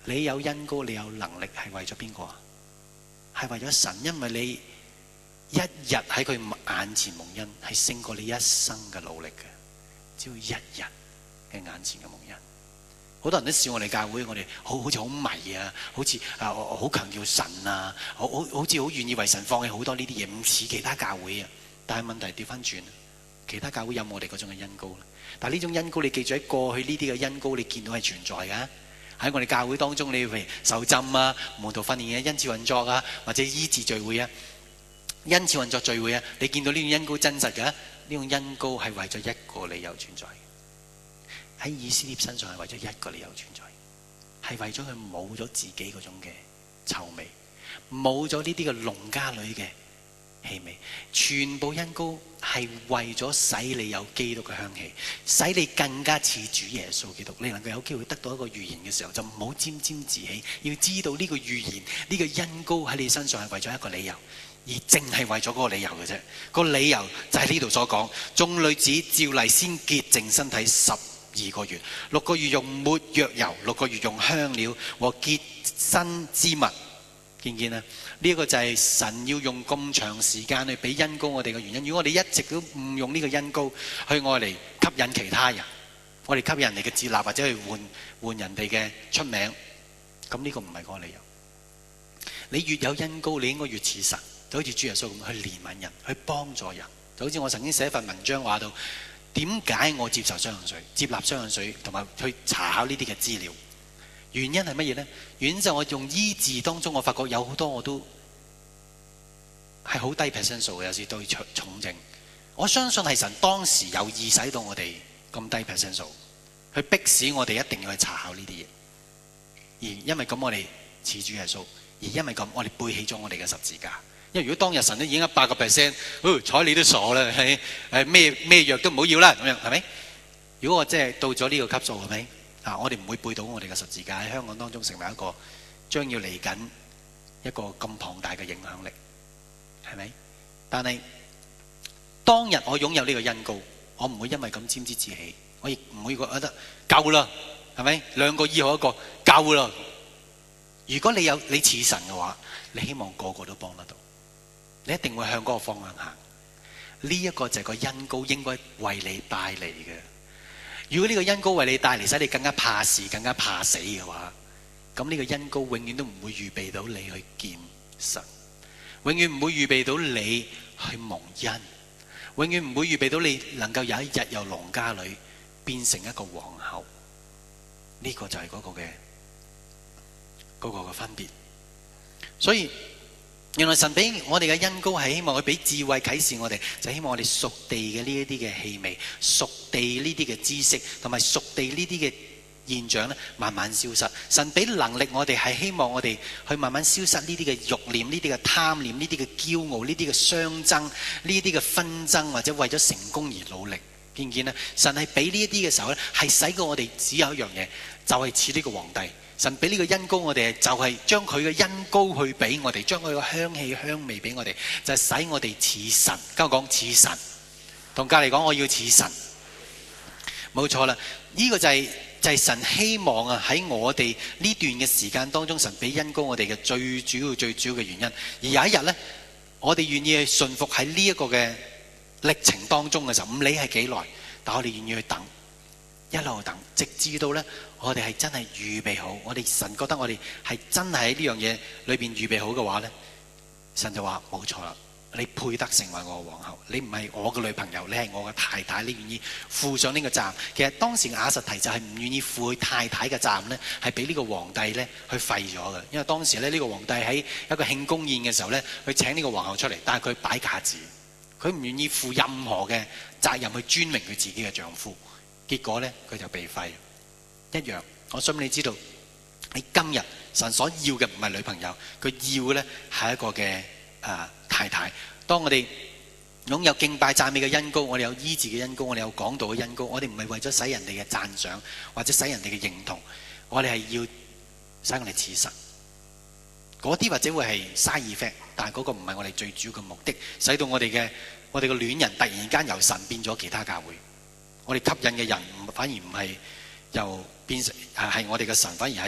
你有恩膏，你有能力，係為咗邊個啊？係為咗神，因為你一日喺佢眼前蒙恩，係勝過你一生嘅努力嘅。只要一日嘅眼前嘅蒙恩，好多人都笑我哋教會，我哋好好似好迷啊，好似啊好強調神啊，好好好似好願意為神放棄好多呢啲嘢，唔似其他教會啊。但係問題掉返轉，其他教會有冇我哋嗰種嘅恩膏咧？但係呢種恩膏，你記住喺過去呢啲嘅恩膏，你見到係存在㗎。喺我哋教會當中，你譬如受浸啊、門徒訓練嘅恩賜運作啊，或者醫治聚會啊、恩賜運作聚會啊，你見到呢種恩膏真實嘅？呢種恩膏係為咗一個理由存在。喺以斯帖身上係為咗一個理由存在，係為咗佢冇咗自己嗰種嘅臭味，冇咗呢啲嘅農家女嘅氣味，全部恩膏係為咗使你有基督嘅香氣，使你更加似主耶穌基督。你能夠有機會得到一個預言嘅時候，就唔好沾沾自喜，要知道呢個預言，呢個恩膏喺你身上係為咗一個理由，而淨係為咗嗰個理由嘅啫。個理由就係呢度所講，眾女子照例先潔淨身體十二個月，六個月用沒藥油，六個月用香料和潔身之物。見唔見啊？呢、這、一個就係神要用咁長時間去俾恩膏我哋嘅原因。如果我哋一直都唔用呢個恩膏去愛嚟吸引其他人，我哋吸引人哋嘅接納或者去換換人哋嘅出名，咁呢個唔係嗰個理由。你越有恩膏，你應該越似神，就好似主耶穌咁去憐憫人，去幫助人。就好似我曾經寫一份文章話到，點解我接受雙氧水、接納雙氧水同埋去查考呢啲嘅資料。原因係乜嘢呢？原因就係我用醫治當中，我發覺有好多我都係好低 percent 數嘅，有時對重症。我相信係神當時有意使到我哋咁低 percent 數，去迫使我哋一定要去查考呢啲嘢。而因為咁，我哋似主耶穌；而因為咁，我哋背起咗我哋嘅十字架。因為如果當日神都已經一百個 percent，睬你都傻啦，係誒咩咩藥都唔好要啦，咁樣係咪？如果我即係到咗呢個級數，係咪？啊！我哋唔會背到我哋嘅十字架喺香港當中成為一個將要嚟緊一個咁龐大嘅影響力，係咪？但係當日我擁有呢個恩膏，我唔會因為咁沾沾自喜，我亦唔會覺得夠啦，係咪？兩個醫好一個夠啦。如果你有你似神嘅話，你希望個個都幫得到，你一定會向嗰個方向行。呢、這、一個就係個恩膏應該為你帶嚟嘅。如果呢個恩膏為你帶嚟使你更加怕事、更加怕死嘅話，咁呢個恩膏永遠都唔會預備到你去見神，永遠唔會預備到你去蒙恩，永遠唔會預備到你能夠有一日由農家女變成一個皇后。呢、這個就係嗰個嘅嗰個嘅分別。所以原來神俾我哋嘅恩膏係希望佢俾智慧啟示我哋，就希望我哋屬地嘅呢一啲嘅氣味、屬地呢啲嘅知識同埋屬地呢啲嘅現象咧，慢慢消失。神俾能力我哋係希望我哋去慢慢消失呢啲嘅慾念、呢啲嘅貪念、呢啲嘅驕傲、呢啲嘅相爭、呢啲嘅紛爭，或者為咗成功而努力。見唔見咧？神係俾呢一啲嘅時候咧，係使過我哋只有一樣嘢，就係似呢個皇帝。神俾呢個恩膏我哋，就係將佢嘅恩膏去俾我哋，將佢嘅香氣香味俾我哋，就係使我哋似神。跟我講似神，同隔籬講我要似神，冇錯啦。呢個就係就係神希望啊喺我哋呢段嘅時間當中，神俾恩膏我哋嘅最主要最主要嘅原因。而有一日呢，我哋願意去順服喺呢一個嘅歷程當中嘅時候，唔理係幾耐，但我哋願意去等，一路等，直至到呢。我哋係真係預備好，我哋神覺得我哋係真係喺呢樣嘢裏邊預備好嘅話呢，神就話冇錯啦，你配得成為我嘅皇后，你唔係我嘅女朋友，你係我嘅太太，你願意負上呢個責任。其實當時亞實提就係唔願意負佢太太嘅責任呢，係俾呢個皇帝呢去廢咗嘅。因為當時咧呢個皇帝喺一個慶功宴嘅時候呢，去請呢個皇后出嚟，但係佢擺架子，佢唔願意負任何嘅責任去尊榮佢自己嘅丈夫，結果呢，佢就被廢。一樣，我想你知道，你今日神所要嘅唔係女朋友，佢要嘅咧係一個嘅誒、呃、太太。當我哋擁有敬拜讚美嘅恩膏，我哋有醫治嘅恩膏，我哋有講道嘅恩膏，我哋唔係為咗使人哋嘅讚賞或者使人哋嘅認同，我哋係要使我哋似神。嗰啲或者會係 side effect，但係嗰個唔係我哋最主要嘅目的，使到我哋嘅我哋嘅戀人突然間由神變咗其他教會，我哋吸引嘅人反而唔係由變成係我哋嘅神，反而係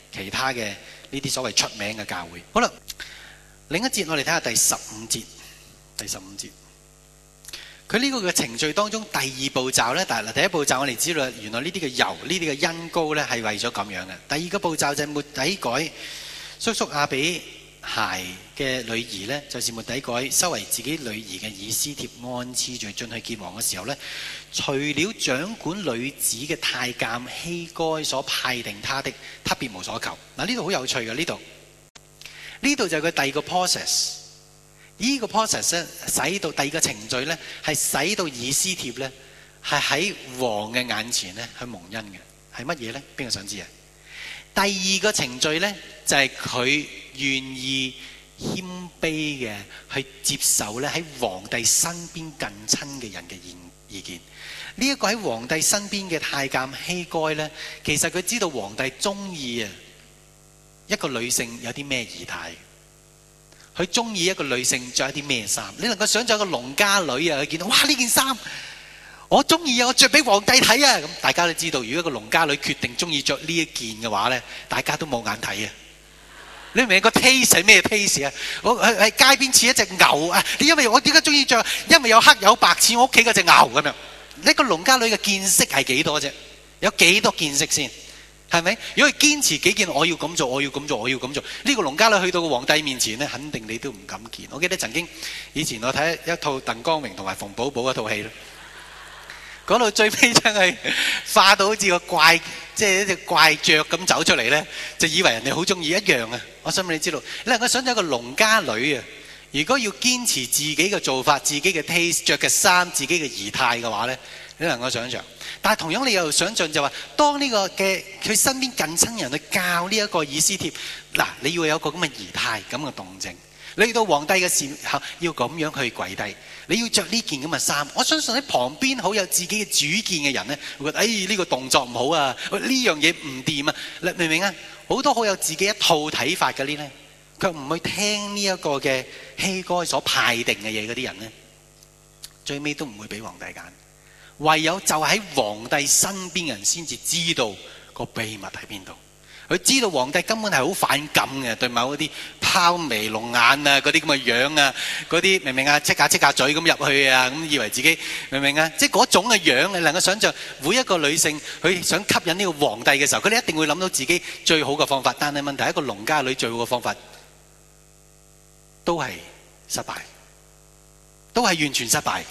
其他嘅呢啲所謂出名嘅教會。好啦，另一節我哋睇下第十五節，第十五節。佢呢個嘅程序當中第二步驟呢，但係第一步驟我哋知道原來呢啲嘅油、呢啲嘅恩膏呢係為咗咁樣嘅。第二個步驟就係末底改叔叔亞比孩嘅女兒呢，就是末底改收為自己女兒嘅以斯帖按次序進去見王嘅時候呢，除了掌管女子嘅太監希該所派定他的，他別無所求。嗱，呢度好有趣嘅，呢度呢度就係佢第二個 process。呢個 process 咧，使到第二個程序咧，係使到以斯帖咧，係喺王嘅眼前咧去蒙恩嘅，係乜嘢咧？邊個想知啊？第二個程序咧，就係佢願意謙卑嘅去接受咧喺皇帝身邊近親嘅人嘅意意見。呢一個喺皇帝身邊嘅太監希該咧，其實佢知道皇帝中意啊一個女性有啲咩儀態。佢中意一個女性着一啲咩衫？你能夠想象一個農家女啊，佢見到哇呢件衫我中意啊，我着俾皇帝睇啊！咁大家都知道，如果一個農家女決定中意着呢一件嘅話咧，大家都冇眼睇啊！你明唔明個 taste 係咩 taste 啊？我喺喺街邊似一隻牛啊！你因為我點解中意着？因為有黑有白似我屋企嗰隻牛咁樣。呢個農家女嘅見識係幾多啫？有幾多見識先？係咪？如果佢堅持己見，我要咁做，我要咁做，我要咁做，呢個農家女去到個皇帝面前咧，肯定你都唔敢見。我記得曾經以前我睇一套鄧光榮同埋馮寶寶嗰套戲咧，講到最尾真係化到好似個怪，即係一隻怪雀咁走出嚟咧，就以為人哋好中意一樣啊！我想俾你知道，你能夠想象一個農家女啊，如果要堅持自己嘅做法、自己嘅 taste、着嘅衫、自己嘅儀態嘅話咧，你能夠想象。但係同樣你又想象就話，當呢個嘅佢身邊近親人去教呢一個以斯帖，嗱，你要有個咁嘅儀態、咁嘅動靜。你去到皇帝嘅時候要咁樣去跪低，你要着呢件咁嘅衫。我相信喺旁邊好有自己嘅主見嘅人咧，會覺得誒呢個動作唔好啊，呢樣嘢唔掂啊，你明唔明啊？好多好有自己一套睇法嘅呢咧，卻唔去聽呢一個嘅希該所派定嘅嘢嗰啲人咧，最尾都唔會俾皇帝揀。唯有就喺皇帝身邊人先至知道個秘密喺邊度。佢知道皇帝根本係好反感嘅，對某嗰啲拋眉弄眼啊，嗰啲咁嘅樣啊，嗰啲明唔明啊？戚下戚下嘴咁入去啊，咁以為自己明唔明啊？即係嗰種嘅樣，你能夠想像每一個女性佢想吸引呢個皇帝嘅時候，佢哋一定會諗到自己最好嘅方法。但係問題係一個農家女最好嘅方法都係失敗，都係完全失敗。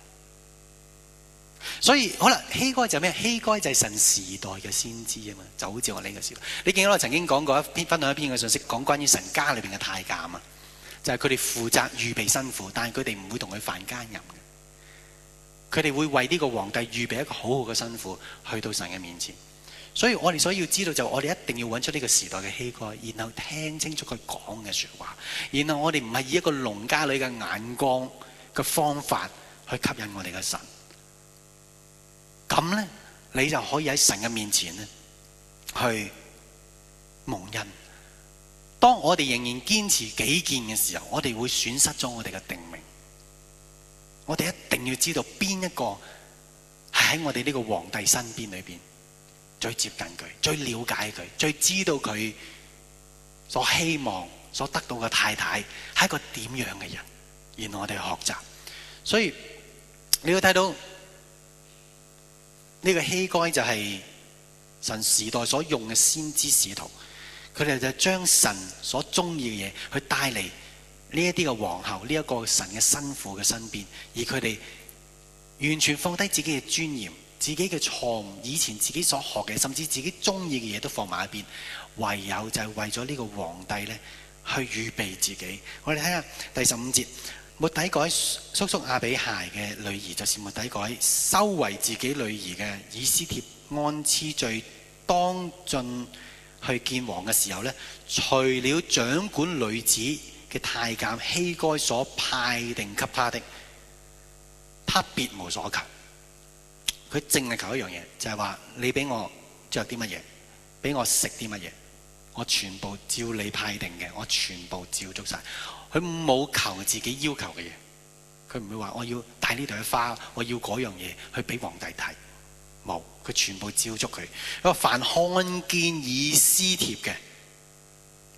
所以好啦，希該就係咩？希該就係神時代嘅先知啊嘛，就好似我呢個時代。你見到我曾經講過一篇分享一篇嘅信息，講關於神家裏邊嘅太監啊，就係佢哋負責預備新婦，但係佢哋唔會同佢犯奸淫嘅。佢哋會為呢個皇帝預備一個好好嘅新婦去到神嘅面前。所以我哋所要知道就我哋一定要揾出呢個時代嘅希該，然後聽清楚佢講嘅說話，然後我哋唔係以一個農家女嘅眼光嘅方法去吸引我哋嘅神。咁呢，你就可以喺神嘅面前呢去蒙恩。當我哋仍然堅持己見嘅時候，我哋會損失咗我哋嘅定命。我哋一定要知道邊一個係喺我哋呢個皇帝身邊裏邊最接近佢、最了解佢、最知道佢所希望所得到嘅太太係一個點樣嘅人，然後我哋學習。所以你要睇到。呢個希該就係神時代所用嘅先知使徒，佢哋就將神所中意嘅嘢去帶嚟呢一啲嘅皇后，呢一個神嘅新婦嘅身邊，而佢哋完全放低自己嘅尊嚴、自己嘅錯誤、以前自己所學嘅，甚至自己中意嘅嘢都放埋一邊，唯有就係為咗呢個皇帝咧去預備自己。我哋睇下第十五節。末底改叔叔亞比孩嘅女兒，就是末底改收為自己女兒嘅以斯帖，按次序當進去見王嘅時候呢，除了掌管女子嘅太監希該所派定給他的，他別無所求。佢淨係求一樣嘢，就係話你俾我着啲乜嘢，俾我食啲乜嘢，我全部照你派定嘅，我全部照足晒。佢冇求自己要求嘅嘢，佢唔會話我要帶呢朵花，我要嗰樣嘢去俾皇帝睇，冇，佢全部照足佢。佢話凡看見以斯帖嘅，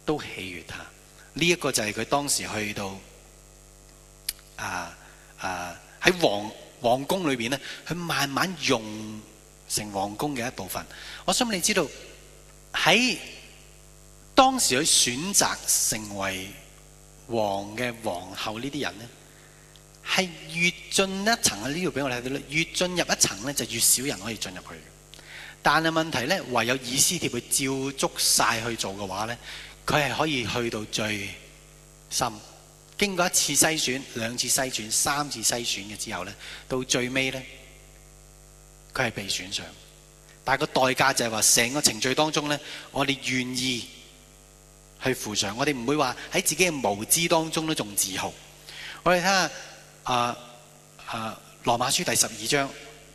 都喜悅他。呢、這、一個就係佢當時去到啊啊喺皇皇宮裏邊咧，佢慢慢用成皇宮嘅一部分。我想你知道喺當時佢選擇成為王嘅皇后呢啲人咧，係越進一層啊！呢度俾我睇到咧，越進入一層咧，就越少人可以進入去。但係問題咧，唯有以斯帖佢照足晒去做嘅話咧，佢係可以去到最深。經過一次篩選、兩次篩選、三次篩選嘅之後咧，到最尾咧，佢係被選上。但係個代價就係話，成個程序當中咧，我哋願意去付上，我哋唔會話喺自己嘅無知當中都仲自豪。我哋睇下啊啊羅馬書第十二章。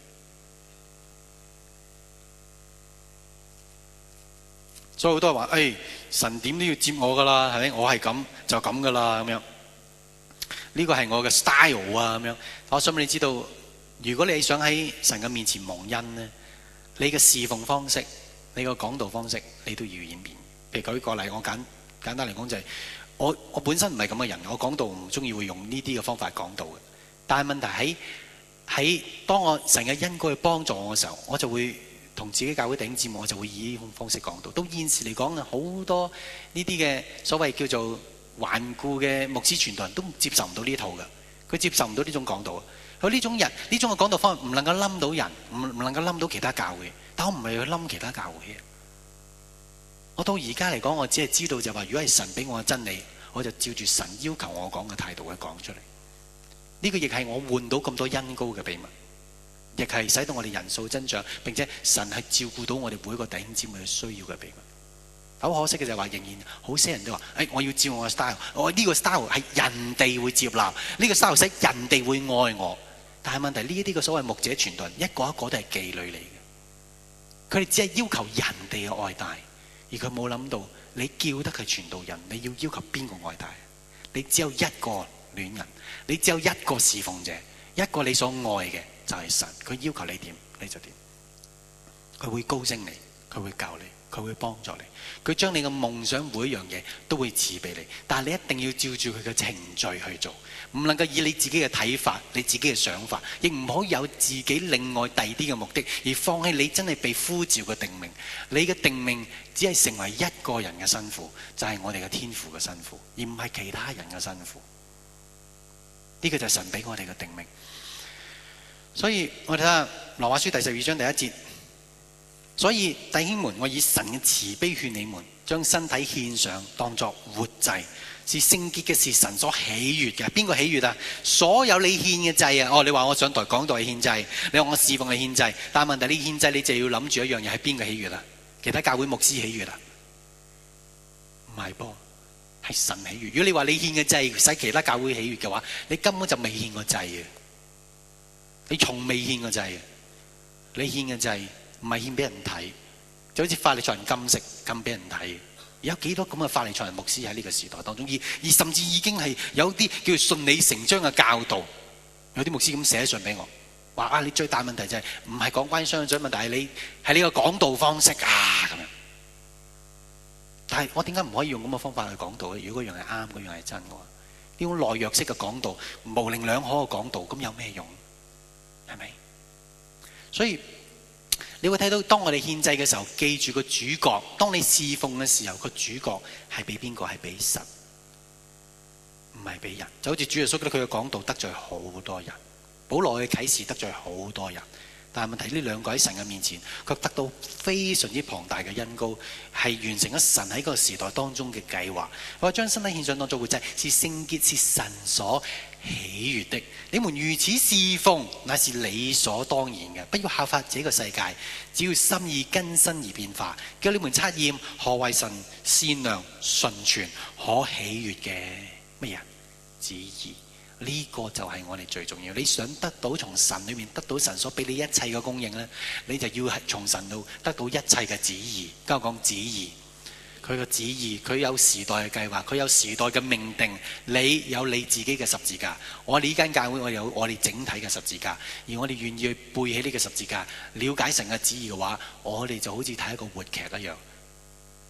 所以好多人話，誒、哎，神點都要接我噶啦，係咪？我係咁就咁噶啦，咁樣。呢個係我嘅 style 啊，咁樣。我想你知道，如果你想喺神嘅面前蒙恩呢，你嘅侍奉方式、你嘅講道方式，你都要演變。譬如舉個例，我簡簡單嚟講就係、是，我我本身唔係咁嘅人，我講道唔中意會用呢啲嘅方法講道嘅。但係問題喺喺當我神嘅恩膏去幫助我嘅時候，我就會同自己教會弟兄姊妹，我就會以呢種方式講道。到現時嚟講啊，好多呢啲嘅所謂叫做頑固嘅牧師傳道人都接受唔到呢套嘅，佢接受唔到呢種講道。佢呢種人呢種嘅講道方法唔能夠冧到人，唔唔能夠冧到其他教會。但我唔係去冧其他教會。我到而家嚟講，我只係知道就話，如果係神俾我嘅真理，我就照住神要求我講嘅態度去講出嚟。呢個亦係我換到咁多恩膏嘅秘密，亦係使到我哋人數增長，並且神係照顧到我哋每一個弟兄姊妹嘅需要嘅秘密。好可惜嘅就係話，仍然好些人都話，誒，我要照我嘅 style， 我呢個 style 係人哋會接納，呢個 style 使人哋會愛我。但係問題呢一啲嘅所謂牧者傳道人，一個一個都係妓女嚟嘅，佢哋只係要求人哋嘅愛戴，而佢冇諗到你叫得佢傳道人，你要要求邊個愛戴？你只有一個戀人，你只有一個侍奉者，一個你所愛嘅就係神。佢要求你點你就點，佢會高升你，佢會教你，佢會幫助你，佢將你嘅夢想每一樣嘢都會賜俾你。但係你一定要照住佢嘅程序去做，唔能夠以你自己嘅睇法、你自己嘅想法，亦唔可以有自己另外第二啲嘅目的，而放棄你真係被呼召嘅定命。你嘅定命只係成為一個人嘅新婦，就係、是、我哋嘅天父嘅新婦，而唔係其他人嘅新婦。呢、這個就係神俾我哋嘅定命。所以我哋睇下羅馬書第十二章第一節。所以弟兄們，我以神嘅慈悲勸你們，將身體獻上，當作活祭，是聖潔嘅，是神所喜悅嘅。邊個喜悅啊？所有你獻嘅祭啊！哦，你話我上台講道係獻祭，你話我侍奉係獻祭，但係問題你獻祭，你就要諗住一樣嘢，係邊個喜悅啊？其他教會牧師喜悅啊？唔係噃，係神喜悅。如果你話你獻嘅祭使其他教會喜悅嘅話，你根本就未獻過祭嘅，你從未獻過祭嘅，你獻嘅祭。唔係獻俾人睇，就好似法利賽人禁食禁俾人睇。有幾多咁嘅法利賽人牧師喺呢個時代當中，而而甚至已經係有啲叫做順理成章嘅教導。有啲牧師咁寫信俾我，話啊，你最大問題就係唔係講關於相長問題，係你係呢個講道方式啊咁樣。但係我點解唔可以用咁嘅方法去講道咧？如果嗰樣係啱，嗰樣係真嘅話，呢種內弱式嘅講道、模棱兩可嘅講道，咁有咩用？係咪？所以你會睇到，當我哋獻祭嘅時候，記住個主角。當你侍奉嘅時候，個主角係俾邊個？係俾神，唔係俾人。就好似主耶穌佢嘅講道得罪好多人，保羅嘅啟示得罪好多人。但係問題呢兩個喺神嘅面前，卻得到非常之龐大嘅恩膏，係完成咗神喺個時代當中嘅計劃。我話將身體獻上當作活祭，是聖潔，是神所喜悦的。你們如此侍奉，那是理所當然嘅。不要效法這個世界，只要心意更新而變化，叫你們測驗何為神善良、純全、可喜悦嘅乜嘢旨意。呢、這個就係我哋最重要。你想得到從神裏面得到神所俾你一切嘅供應呢，你就要係從神度得到一切嘅旨意。跟我講旨意，佢嘅旨意，佢有時代嘅計劃，佢有時代嘅命定。你有你自己嘅十字架，我哋呢間教會我有我哋整體嘅十字架，而我哋願意去背起呢個十字架，了解神嘅旨意嘅話，我哋就好似睇一個活劇一樣。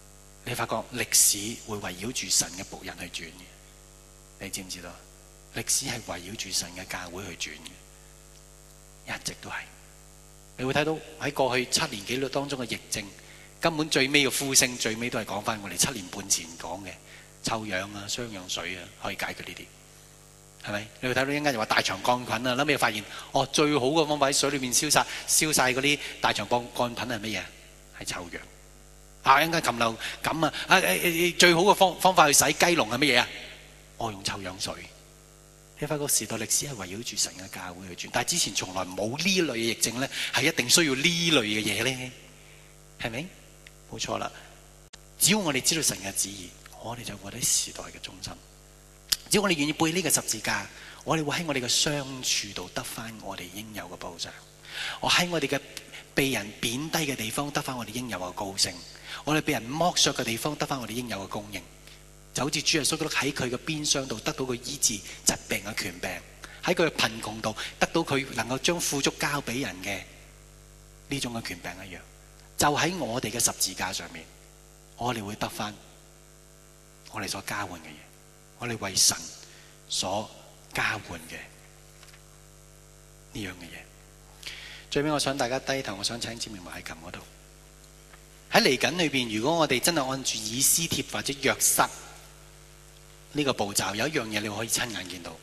你發覺歷史會圍繞住神嘅僕人去轉嘅，你知唔知道？歷史係圍繞住神嘅教會去轉嘅，一直都係。你會睇到喺過去七年幾當中嘅疫症，根本最尾嘅呼聲，最尾都係講翻我哋七年半前講嘅臭氧啊、雙氧水啊，可以解決呢啲，係咪？你會睇到一陣間就話大腸桿菌啊，後尾發現哦，最好嘅方法喺水裏面燒晒燒晒嗰啲大腸桿桿菌係乜嘢？係臭氧。啊！一陣間禽流感啊！啊誒最好嘅方方法去洗雞籠係乜嘢啊？我用臭氧水。你發覺時代歷史係圍繞住神嘅教會去轉，但係之前從來冇呢類嘅疫症咧，係一定需要呢類嘅嘢咧，係咪？冇錯啦。只要我哋知道神嘅旨意，我哋就活喺時代嘅中心。只要我哋願意背呢個十字架，我哋會喺我哋嘅傷處度得翻我哋應有嘅報償。我喺我哋嘅被人貶低嘅地方得翻我哋應有嘅高升。我哋被人剝削嘅地方得翻我哋應有嘅供應，就好似主耶穌基督喺佢嘅鞭傷度得到佢醫治疾病嘅權柄，喺佢嘅貧窮度得到佢能夠將富足交俾人嘅呢種嘅權柄一樣。就喺我哋嘅十字架上面，我哋會得翻我哋所交換嘅嘢，我哋為神所交換嘅呢樣嘅嘢。最尾我想大家低頭，我想請姊妹埋喺琴嗰度。喺嚟緊裏邊，如果我哋真係按住以斯帖或者約瑟呢個步驟，有一樣嘢你可以親眼見到，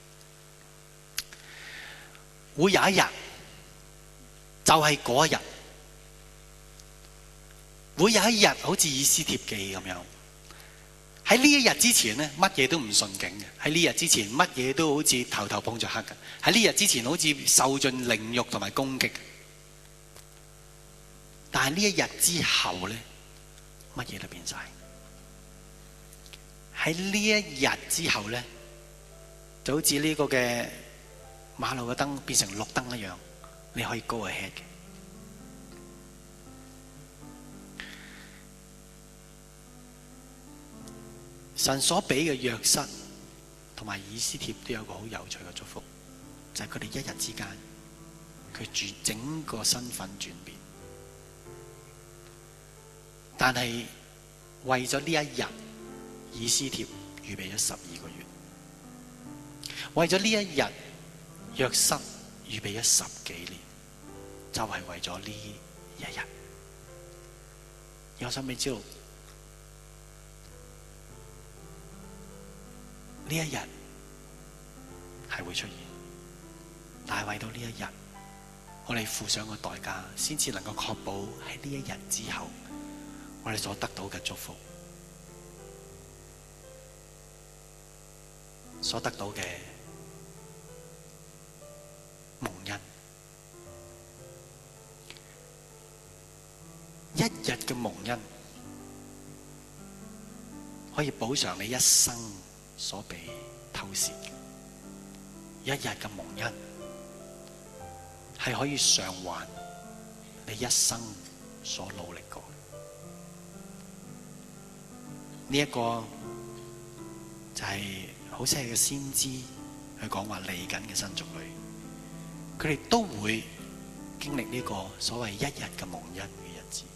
會有一日就係嗰一日，會有一日好似以斯帖記咁樣。喺呢一日之前呢，乜嘢都唔順境嘅；喺呢日之前，乜嘢都好似頭頭碰着黑嘅；喺呢日之前，好似受盡凌辱同埋攻擊。但係呢一日之後呢，乜嘢都變晒。喺呢一日之後呢，就好似呢個嘅馬路嘅燈變成綠燈一樣，你可以 go ahead 嘅。神所俾嘅約瑟同埋以斯帖都有個好有趣嘅祝福，就係佢哋一日之間，佢住整個身份轉變。但係為咗呢一日，以斯帖預備咗十二個月；為咗呢一日，約瑟預備咗十幾年，就係為咗呢一日。我想俾你知道，呢一日係會出現，但係為到呢一日，我哋付上個代價，先至能夠確保喺呢一日之後，我哋所得到嘅祝福，所得到嘅蒙恩，一日嘅蒙恩可以補償你一生所被偷竊嘅，一日嘅蒙恩係可以償還你一生所努力過。呢、這、一個就係好似係個先知去講話嚟緊嘅新族類，佢哋都會經歷呢個所謂一日嘅蒙恩嘅日子。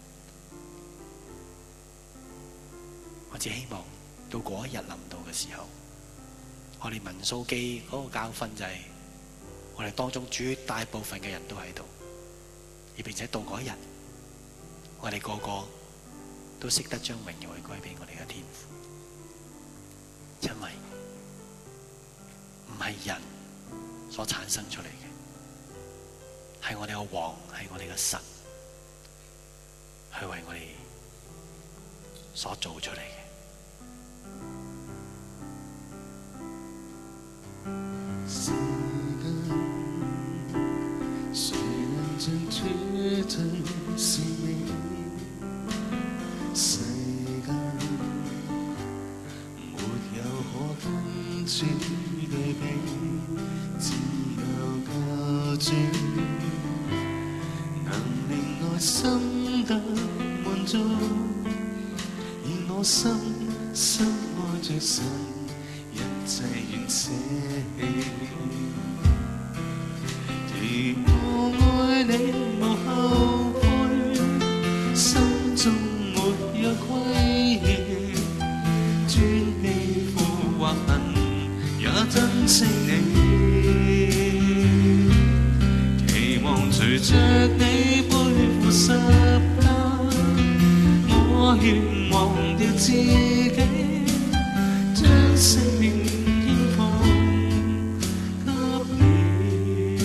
我只希望到嗰一日臨到嘅時候，我哋民數記嗰個教訓就係、是、我哋當中絕大部分嘅人都喺度，而並且到嗰一日，我哋個個都識得將榮耀去歸俾我哋嘅天父，因為唔係人所產生出嚟嘅，係我哋嘅王，係我哋嘅神，去為我哋所做出嚟嘅。 時間，誰能像絕對是你？世間沒有可跟主對比，只有救主能令愛心得滿足，而我心深愛着神，一切願捨棄。如我愛你無後悔，心中沒有愧。 掉自己，將生命獻奉給你。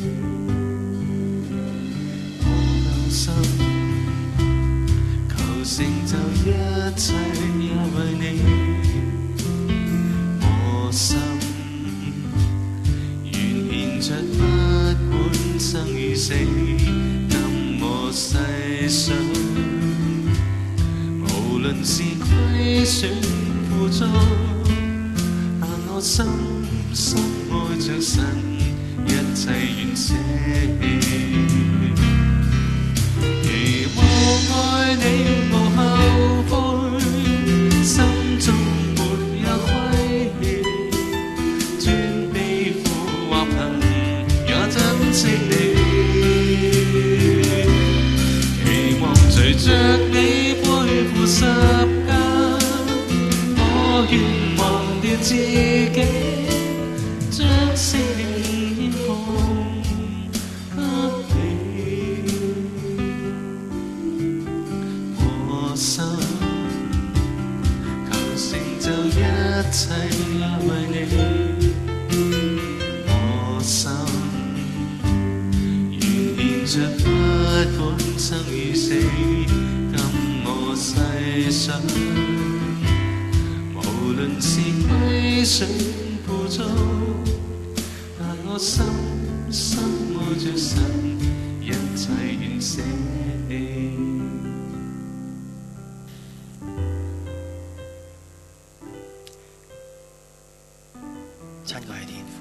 我留心，求成就一切也為你。我心願獻出不管生與死，任我世上。無論是虧損負重，但我深深愛着神，一切願捨棄。期望愛你無後悔，心中沒有虧欠，專悲苦或貧也珍惜你。期望隨着你十架，我願忘掉自己，將生命獻奉給你。我心求成就一切也為你。我心願獻出不管生與死，世上無論是虧損負重，但我深深愛着神，一切願捨棄。 親愛的天父，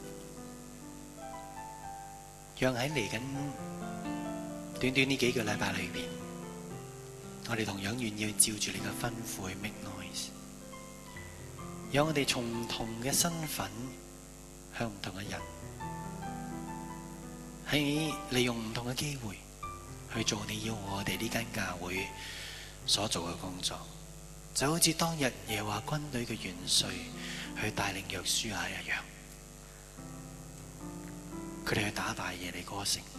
讓喺嚟緊短短呢幾個禮拜裏邊，我哋同樣願意照住你嘅吩咐去 make noise， 讓我哋從唔同嘅身份向唔同嘅人，喺利用唔同嘅機會去做你要我哋呢間教會所做嘅工作，就好似當日耶和華軍隊嘅元帥去帶領約書亞一樣，佢哋去打敗耶利哥城。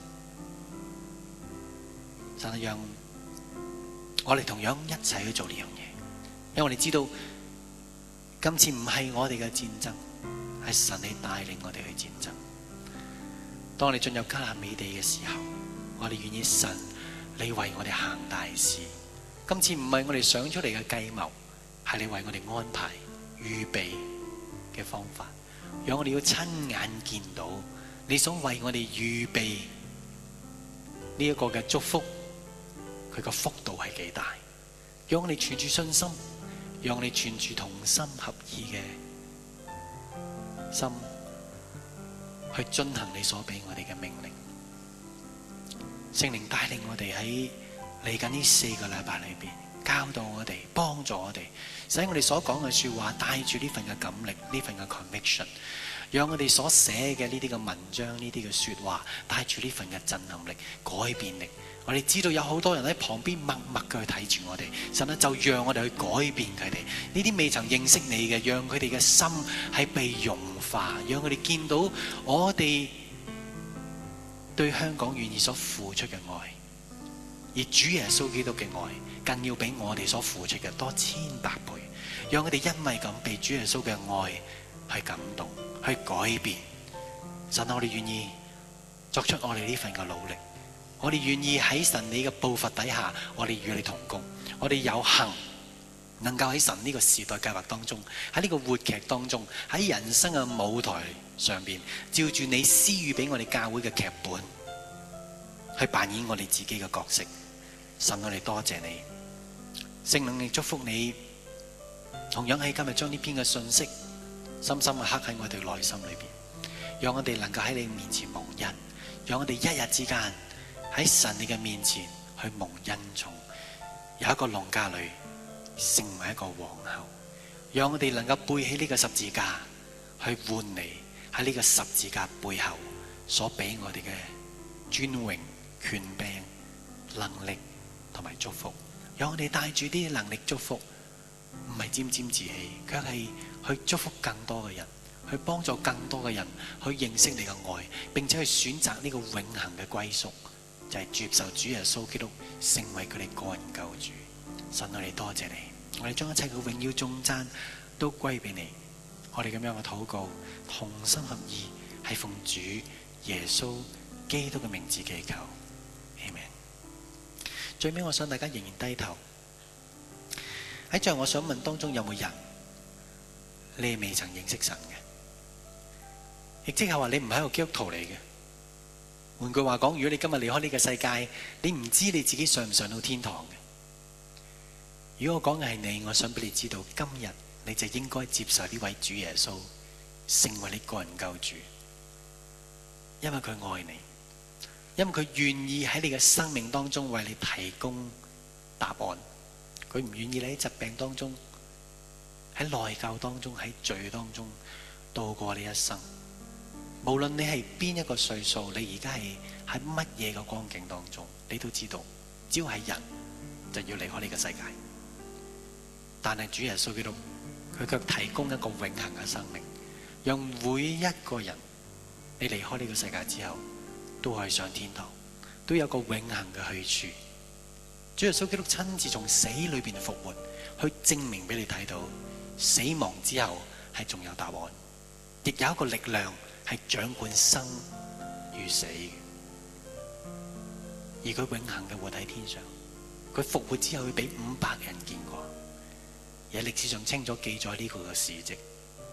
神讓我哋同樣一齊去做呢樣嘢，因為我哋知道今次唔係我哋嘅戰爭，係神你帶領我哋去戰爭。當我哋進入迦南美地嘅時候，我哋願意神你為我哋行大事。今次唔係我哋想出嚟嘅計謀，係你為我哋安排預備嘅方法，讓我哋要親眼見到你所為我哋預備呢一個嘅祝福，佢個幅度係幾大，讓我哋存住信心，讓我哋存住同心合意嘅心去遵行你所俾我哋嘅命令。聖靈帶領我哋喺嚟緊呢四個禮拜裏邊，教導我哋，幫助我哋，使我哋所講嘅說話帶住呢份嘅感力，呢份嘅 conviction， 讓我哋所寫嘅呢啲嘅文章，呢啲嘅說話帶住呢份嘅震撼力、改變力。我哋知道有好多人喺旁邊默默嘅去睇住我哋，神啊，就讓我哋去改變佢哋。呢啲未曾認識你嘅，讓佢哋嘅心係被融化，讓佢哋見到我哋對香港願意所付出嘅愛，而主耶穌基督嘅愛更要比我哋所付出嘅多千百倍。讓佢哋因為咁被主耶穌嘅愛去感動，去改變。神啊，我哋願意作出我哋呢份嘅努力。我哋願意喺神你嘅步伐底下，我哋與你同工，我哋有幸能夠喺神呢個時代計劃當中，喺呢個活劇當中，喺人生嘅舞台上邊，照住你施予俾我哋教會嘅劇本，去扮演我哋自己嘅角色。神，我哋多謝你，聖靈你祝福你，同樣喺今日將呢篇嘅信息深深嘅刻喺我哋內心裏邊，讓我哋能夠喺你面前蒙恩，讓我哋一日之間喺神你嘅面前去蒙恩寵，有一個農家女成為一個皇后，讓我哋能夠背起呢個十字架去換嚟喺呢個十字架背後所俾我哋嘅尊榮、權柄、能力同埋祝福，讓我哋帶住啲能力祝福，唔係沾沾自喜，卻係去祝福更多嘅人，去幫助更多嘅人去認識你嘅愛，並且去選擇呢個永恆嘅歸宿，就係接受主耶穌基督成為佢哋個人救主。神，我哋多謝你， 我哋將一切嘅榮耀頌讚都歸俾你。我哋咁樣嘅禱告，同心合意，係奉主耶穌基督嘅名字祈求，阿們。最尾我想大家仍然低頭。喺最後我想問當中有冇人你未曾認識神嘅？亦即係話你唔係一個基督徒嚟嘅。換句話講，如果你今日離開呢個世界，你唔知你自己上唔上到天堂嘅。如果我講嘅係你，我想俾你知道，今日你就應該接受呢位主耶穌，成為你個人救主，因為佢愛你，因為佢願意喺你嘅生命當中為你提供答案。佢唔願意你喺疾病當中、喺內疚當中、喺罪當中度過你一生。無論你係邊一個歲數，你而家係喺乜嘢嘅光景當中，你都知道，只要係人就要離開呢個世界。但係主耶穌基督，佢卻提供一個永恆嘅生命，讓每一個人你離開呢個世界之後，都可以上天堂，都有個永恆嘅去處。主耶穌基督親自從死裏邊復活，去證明俾你睇到，死亡之後係仲有答案，亦有一個力量係掌管生與死嘅。而佢永恆嘅活喺天上，佢復活之後會俾五百人見過，而喺歷史上清楚記載呢個嘅事蹟。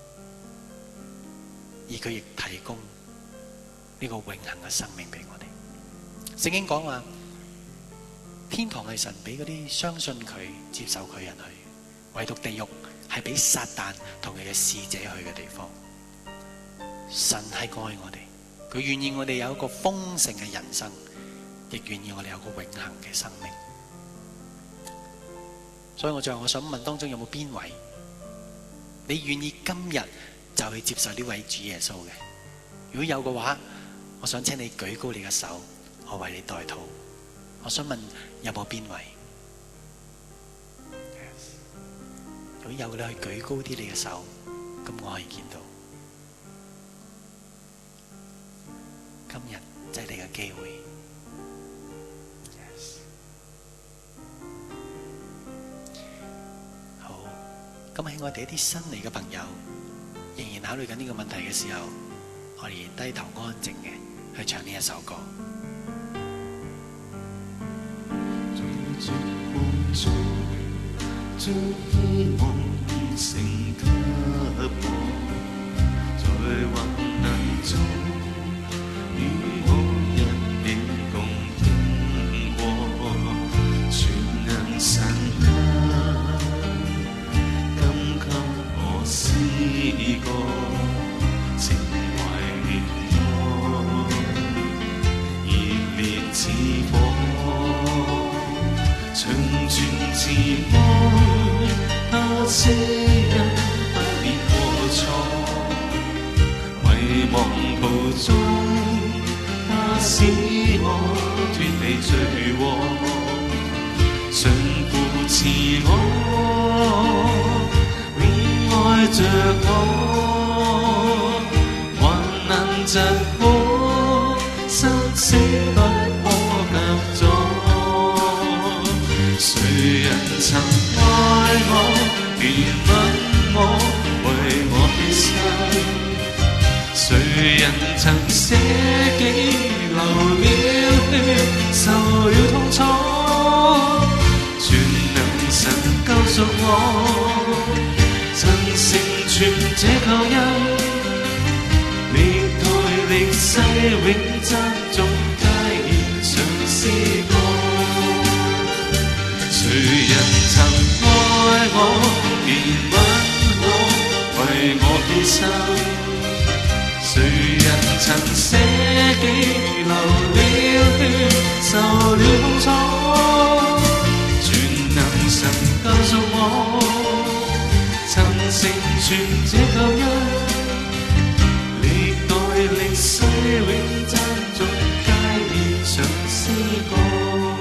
而佢亦提供呢個永恆嘅生命俾我哋。聖經講話，天堂係神俾嗰啲相信佢、接受佢人去，唯獨地獄係俾撒旦同佢嘅使者去嘅地方。神係愛我哋，佢願意我哋有一個豐盛嘅人生，亦願意我哋有個永恆嘅生命。所以我最後我想問當中有冇邊位，你願意今日就去接受呢位主耶穌嘅？如果有嘅話，我想請你舉高你嘅手，我為你代禱。我想問有冇邊位？ Yes. 如果有嘅，你去舉高啲你嘅手，咁我可以見到。今日就係你嘅機會。Yes. 好，咁喺我哋一啲新嚟嘅朋友仍然考慮緊呢個問題嘅時候，我哋低頭安靜嘅去唱呢一首歌。 在絕望中，將希望變成給我，在患難中，與我一起共經過，全能神啊，今給我詩歌，情懷烈愛，熱烈似火。長存慈愛，那些人不變過錯，迷茫途中，他使我脫離罪禍，常扶持我，永愛着我，患難疾苦，生死不可隔阻。誰人曾愛我，憐憫我，為我犧牲？誰人曾捨己，流了血，受了痛楚？全能神救贖我，曾成全這救恩，歷代歷世永讚頌皆獻上詩歌。誰人曾愛我，憐憫我，為我犧牲？誰人曾捨己，流了血，受了痛楚？全能神救贖我，曾成全這救恩，歷代歷世永讚頌皆獻上詩歌。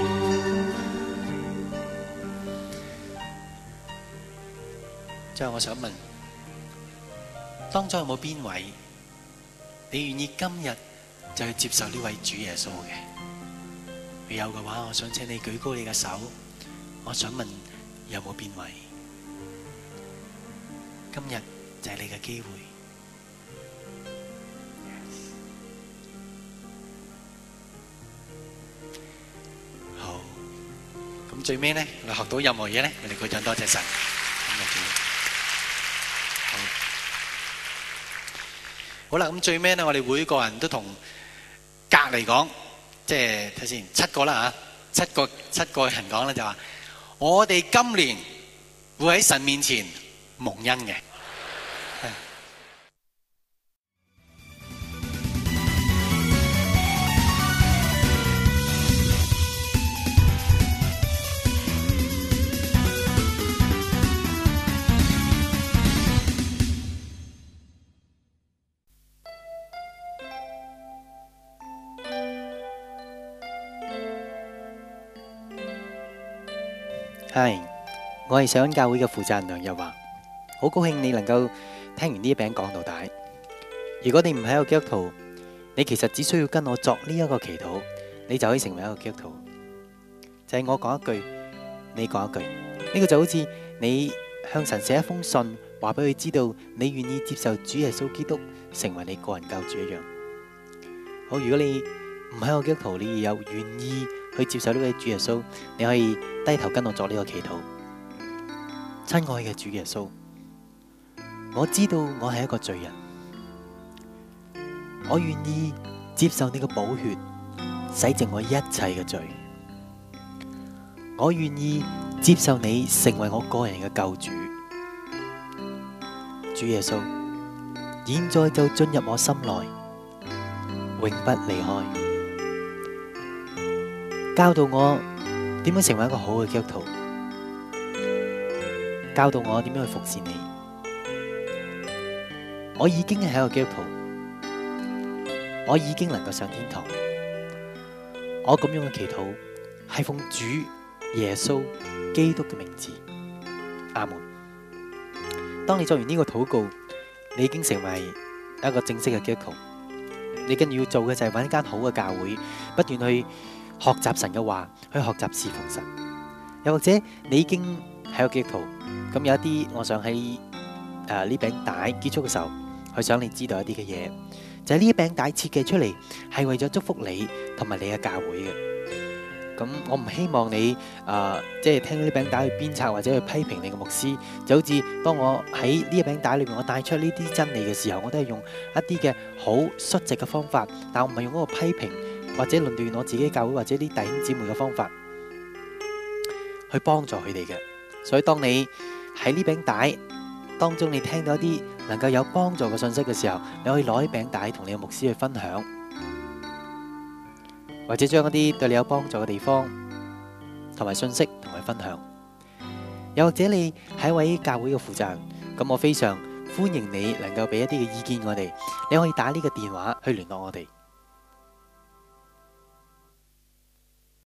最後我想問，當中有冇邊位你願意今日就去接受呢位主耶穌嘅？如有嘅話，我想請你舉高你嘅手。我想問有冇邊位？ 今日就係你嘅機會。好，咁最尾咧，我哋學到任何嘢咧，我哋鼓掌多謝神。好，好啦，咁最尾咧，我哋每個人都同隔離講，即係睇先七個啦嚇，七個七個人講咧就話，我哋今年會喺神面前蒙恩嘅。係，我係上恩教會嘅負責人梁日華，好高興你能夠聽完呢一餅講道帶。如果你唔係一個基督徒，你其實只需要跟我作呢一個祈禱，你就可以成為一個基督徒。就係我講一句，你講一句，呢個就好似你向神寫一封信，話俾佢知道你願意接受主耶穌基督成為你個人救主一樣。好，如果你唔係一個基督徒，你又願意去接受呢位主耶穌，你可以低頭跟我作呢個祈禱。親愛嘅主耶穌，我知道我係一個罪人，我願意接受你嘅寶血洗淨我一切嘅罪，我願意接受你成為我個人嘅救主。主耶穌，現在就進入我心內，永不離開。教導我點樣成為一個好嘅基督徒，教導我點樣去服侍你。我已經係一個基督徒，我已經能夠上天堂。我咁樣嘅祈禱係奉主耶穌基督嘅名字，阿門。當你做完呢個禱告，你已經成為一個正式嘅基督徒。你跟住要做嘅就係揾一間好嘅教會，不斷去學習神嘅話，去學習侍奉神。又或者你已經係個基督徒，咁有一啲，我想喺誒呢餅帶結束嘅時候，去想你知道一啲嘅嘢，就係呢一餅帶設計出嚟係為咗祝福你同埋你嘅教會嘅。咁我唔希望你誒即係聽呢餅帶去鞭策或者去批評你嘅牧師，就好似當我喺呢一餅帶裏面我帶出呢啲真理嘅時候，我都係用一啲嘅好率直嘅方法，但我唔係用嗰個批評或者論斷我自己教會或者啲弟兄姊妹嘅方法去幫助佢哋嘅。所以當你喺呢餅帶當中你聽到一啲能夠有幫助嘅信息嘅時候，你可以攞呢餅帶同你嘅牧師去分享，或者將一啲對你有幫助嘅地方同埋信息同佢分享。又或者你係一位教會嘅負責人，咁我非常歡迎你能夠俾一啲嘅意見我哋，你可以打呢個電話去聯絡我哋。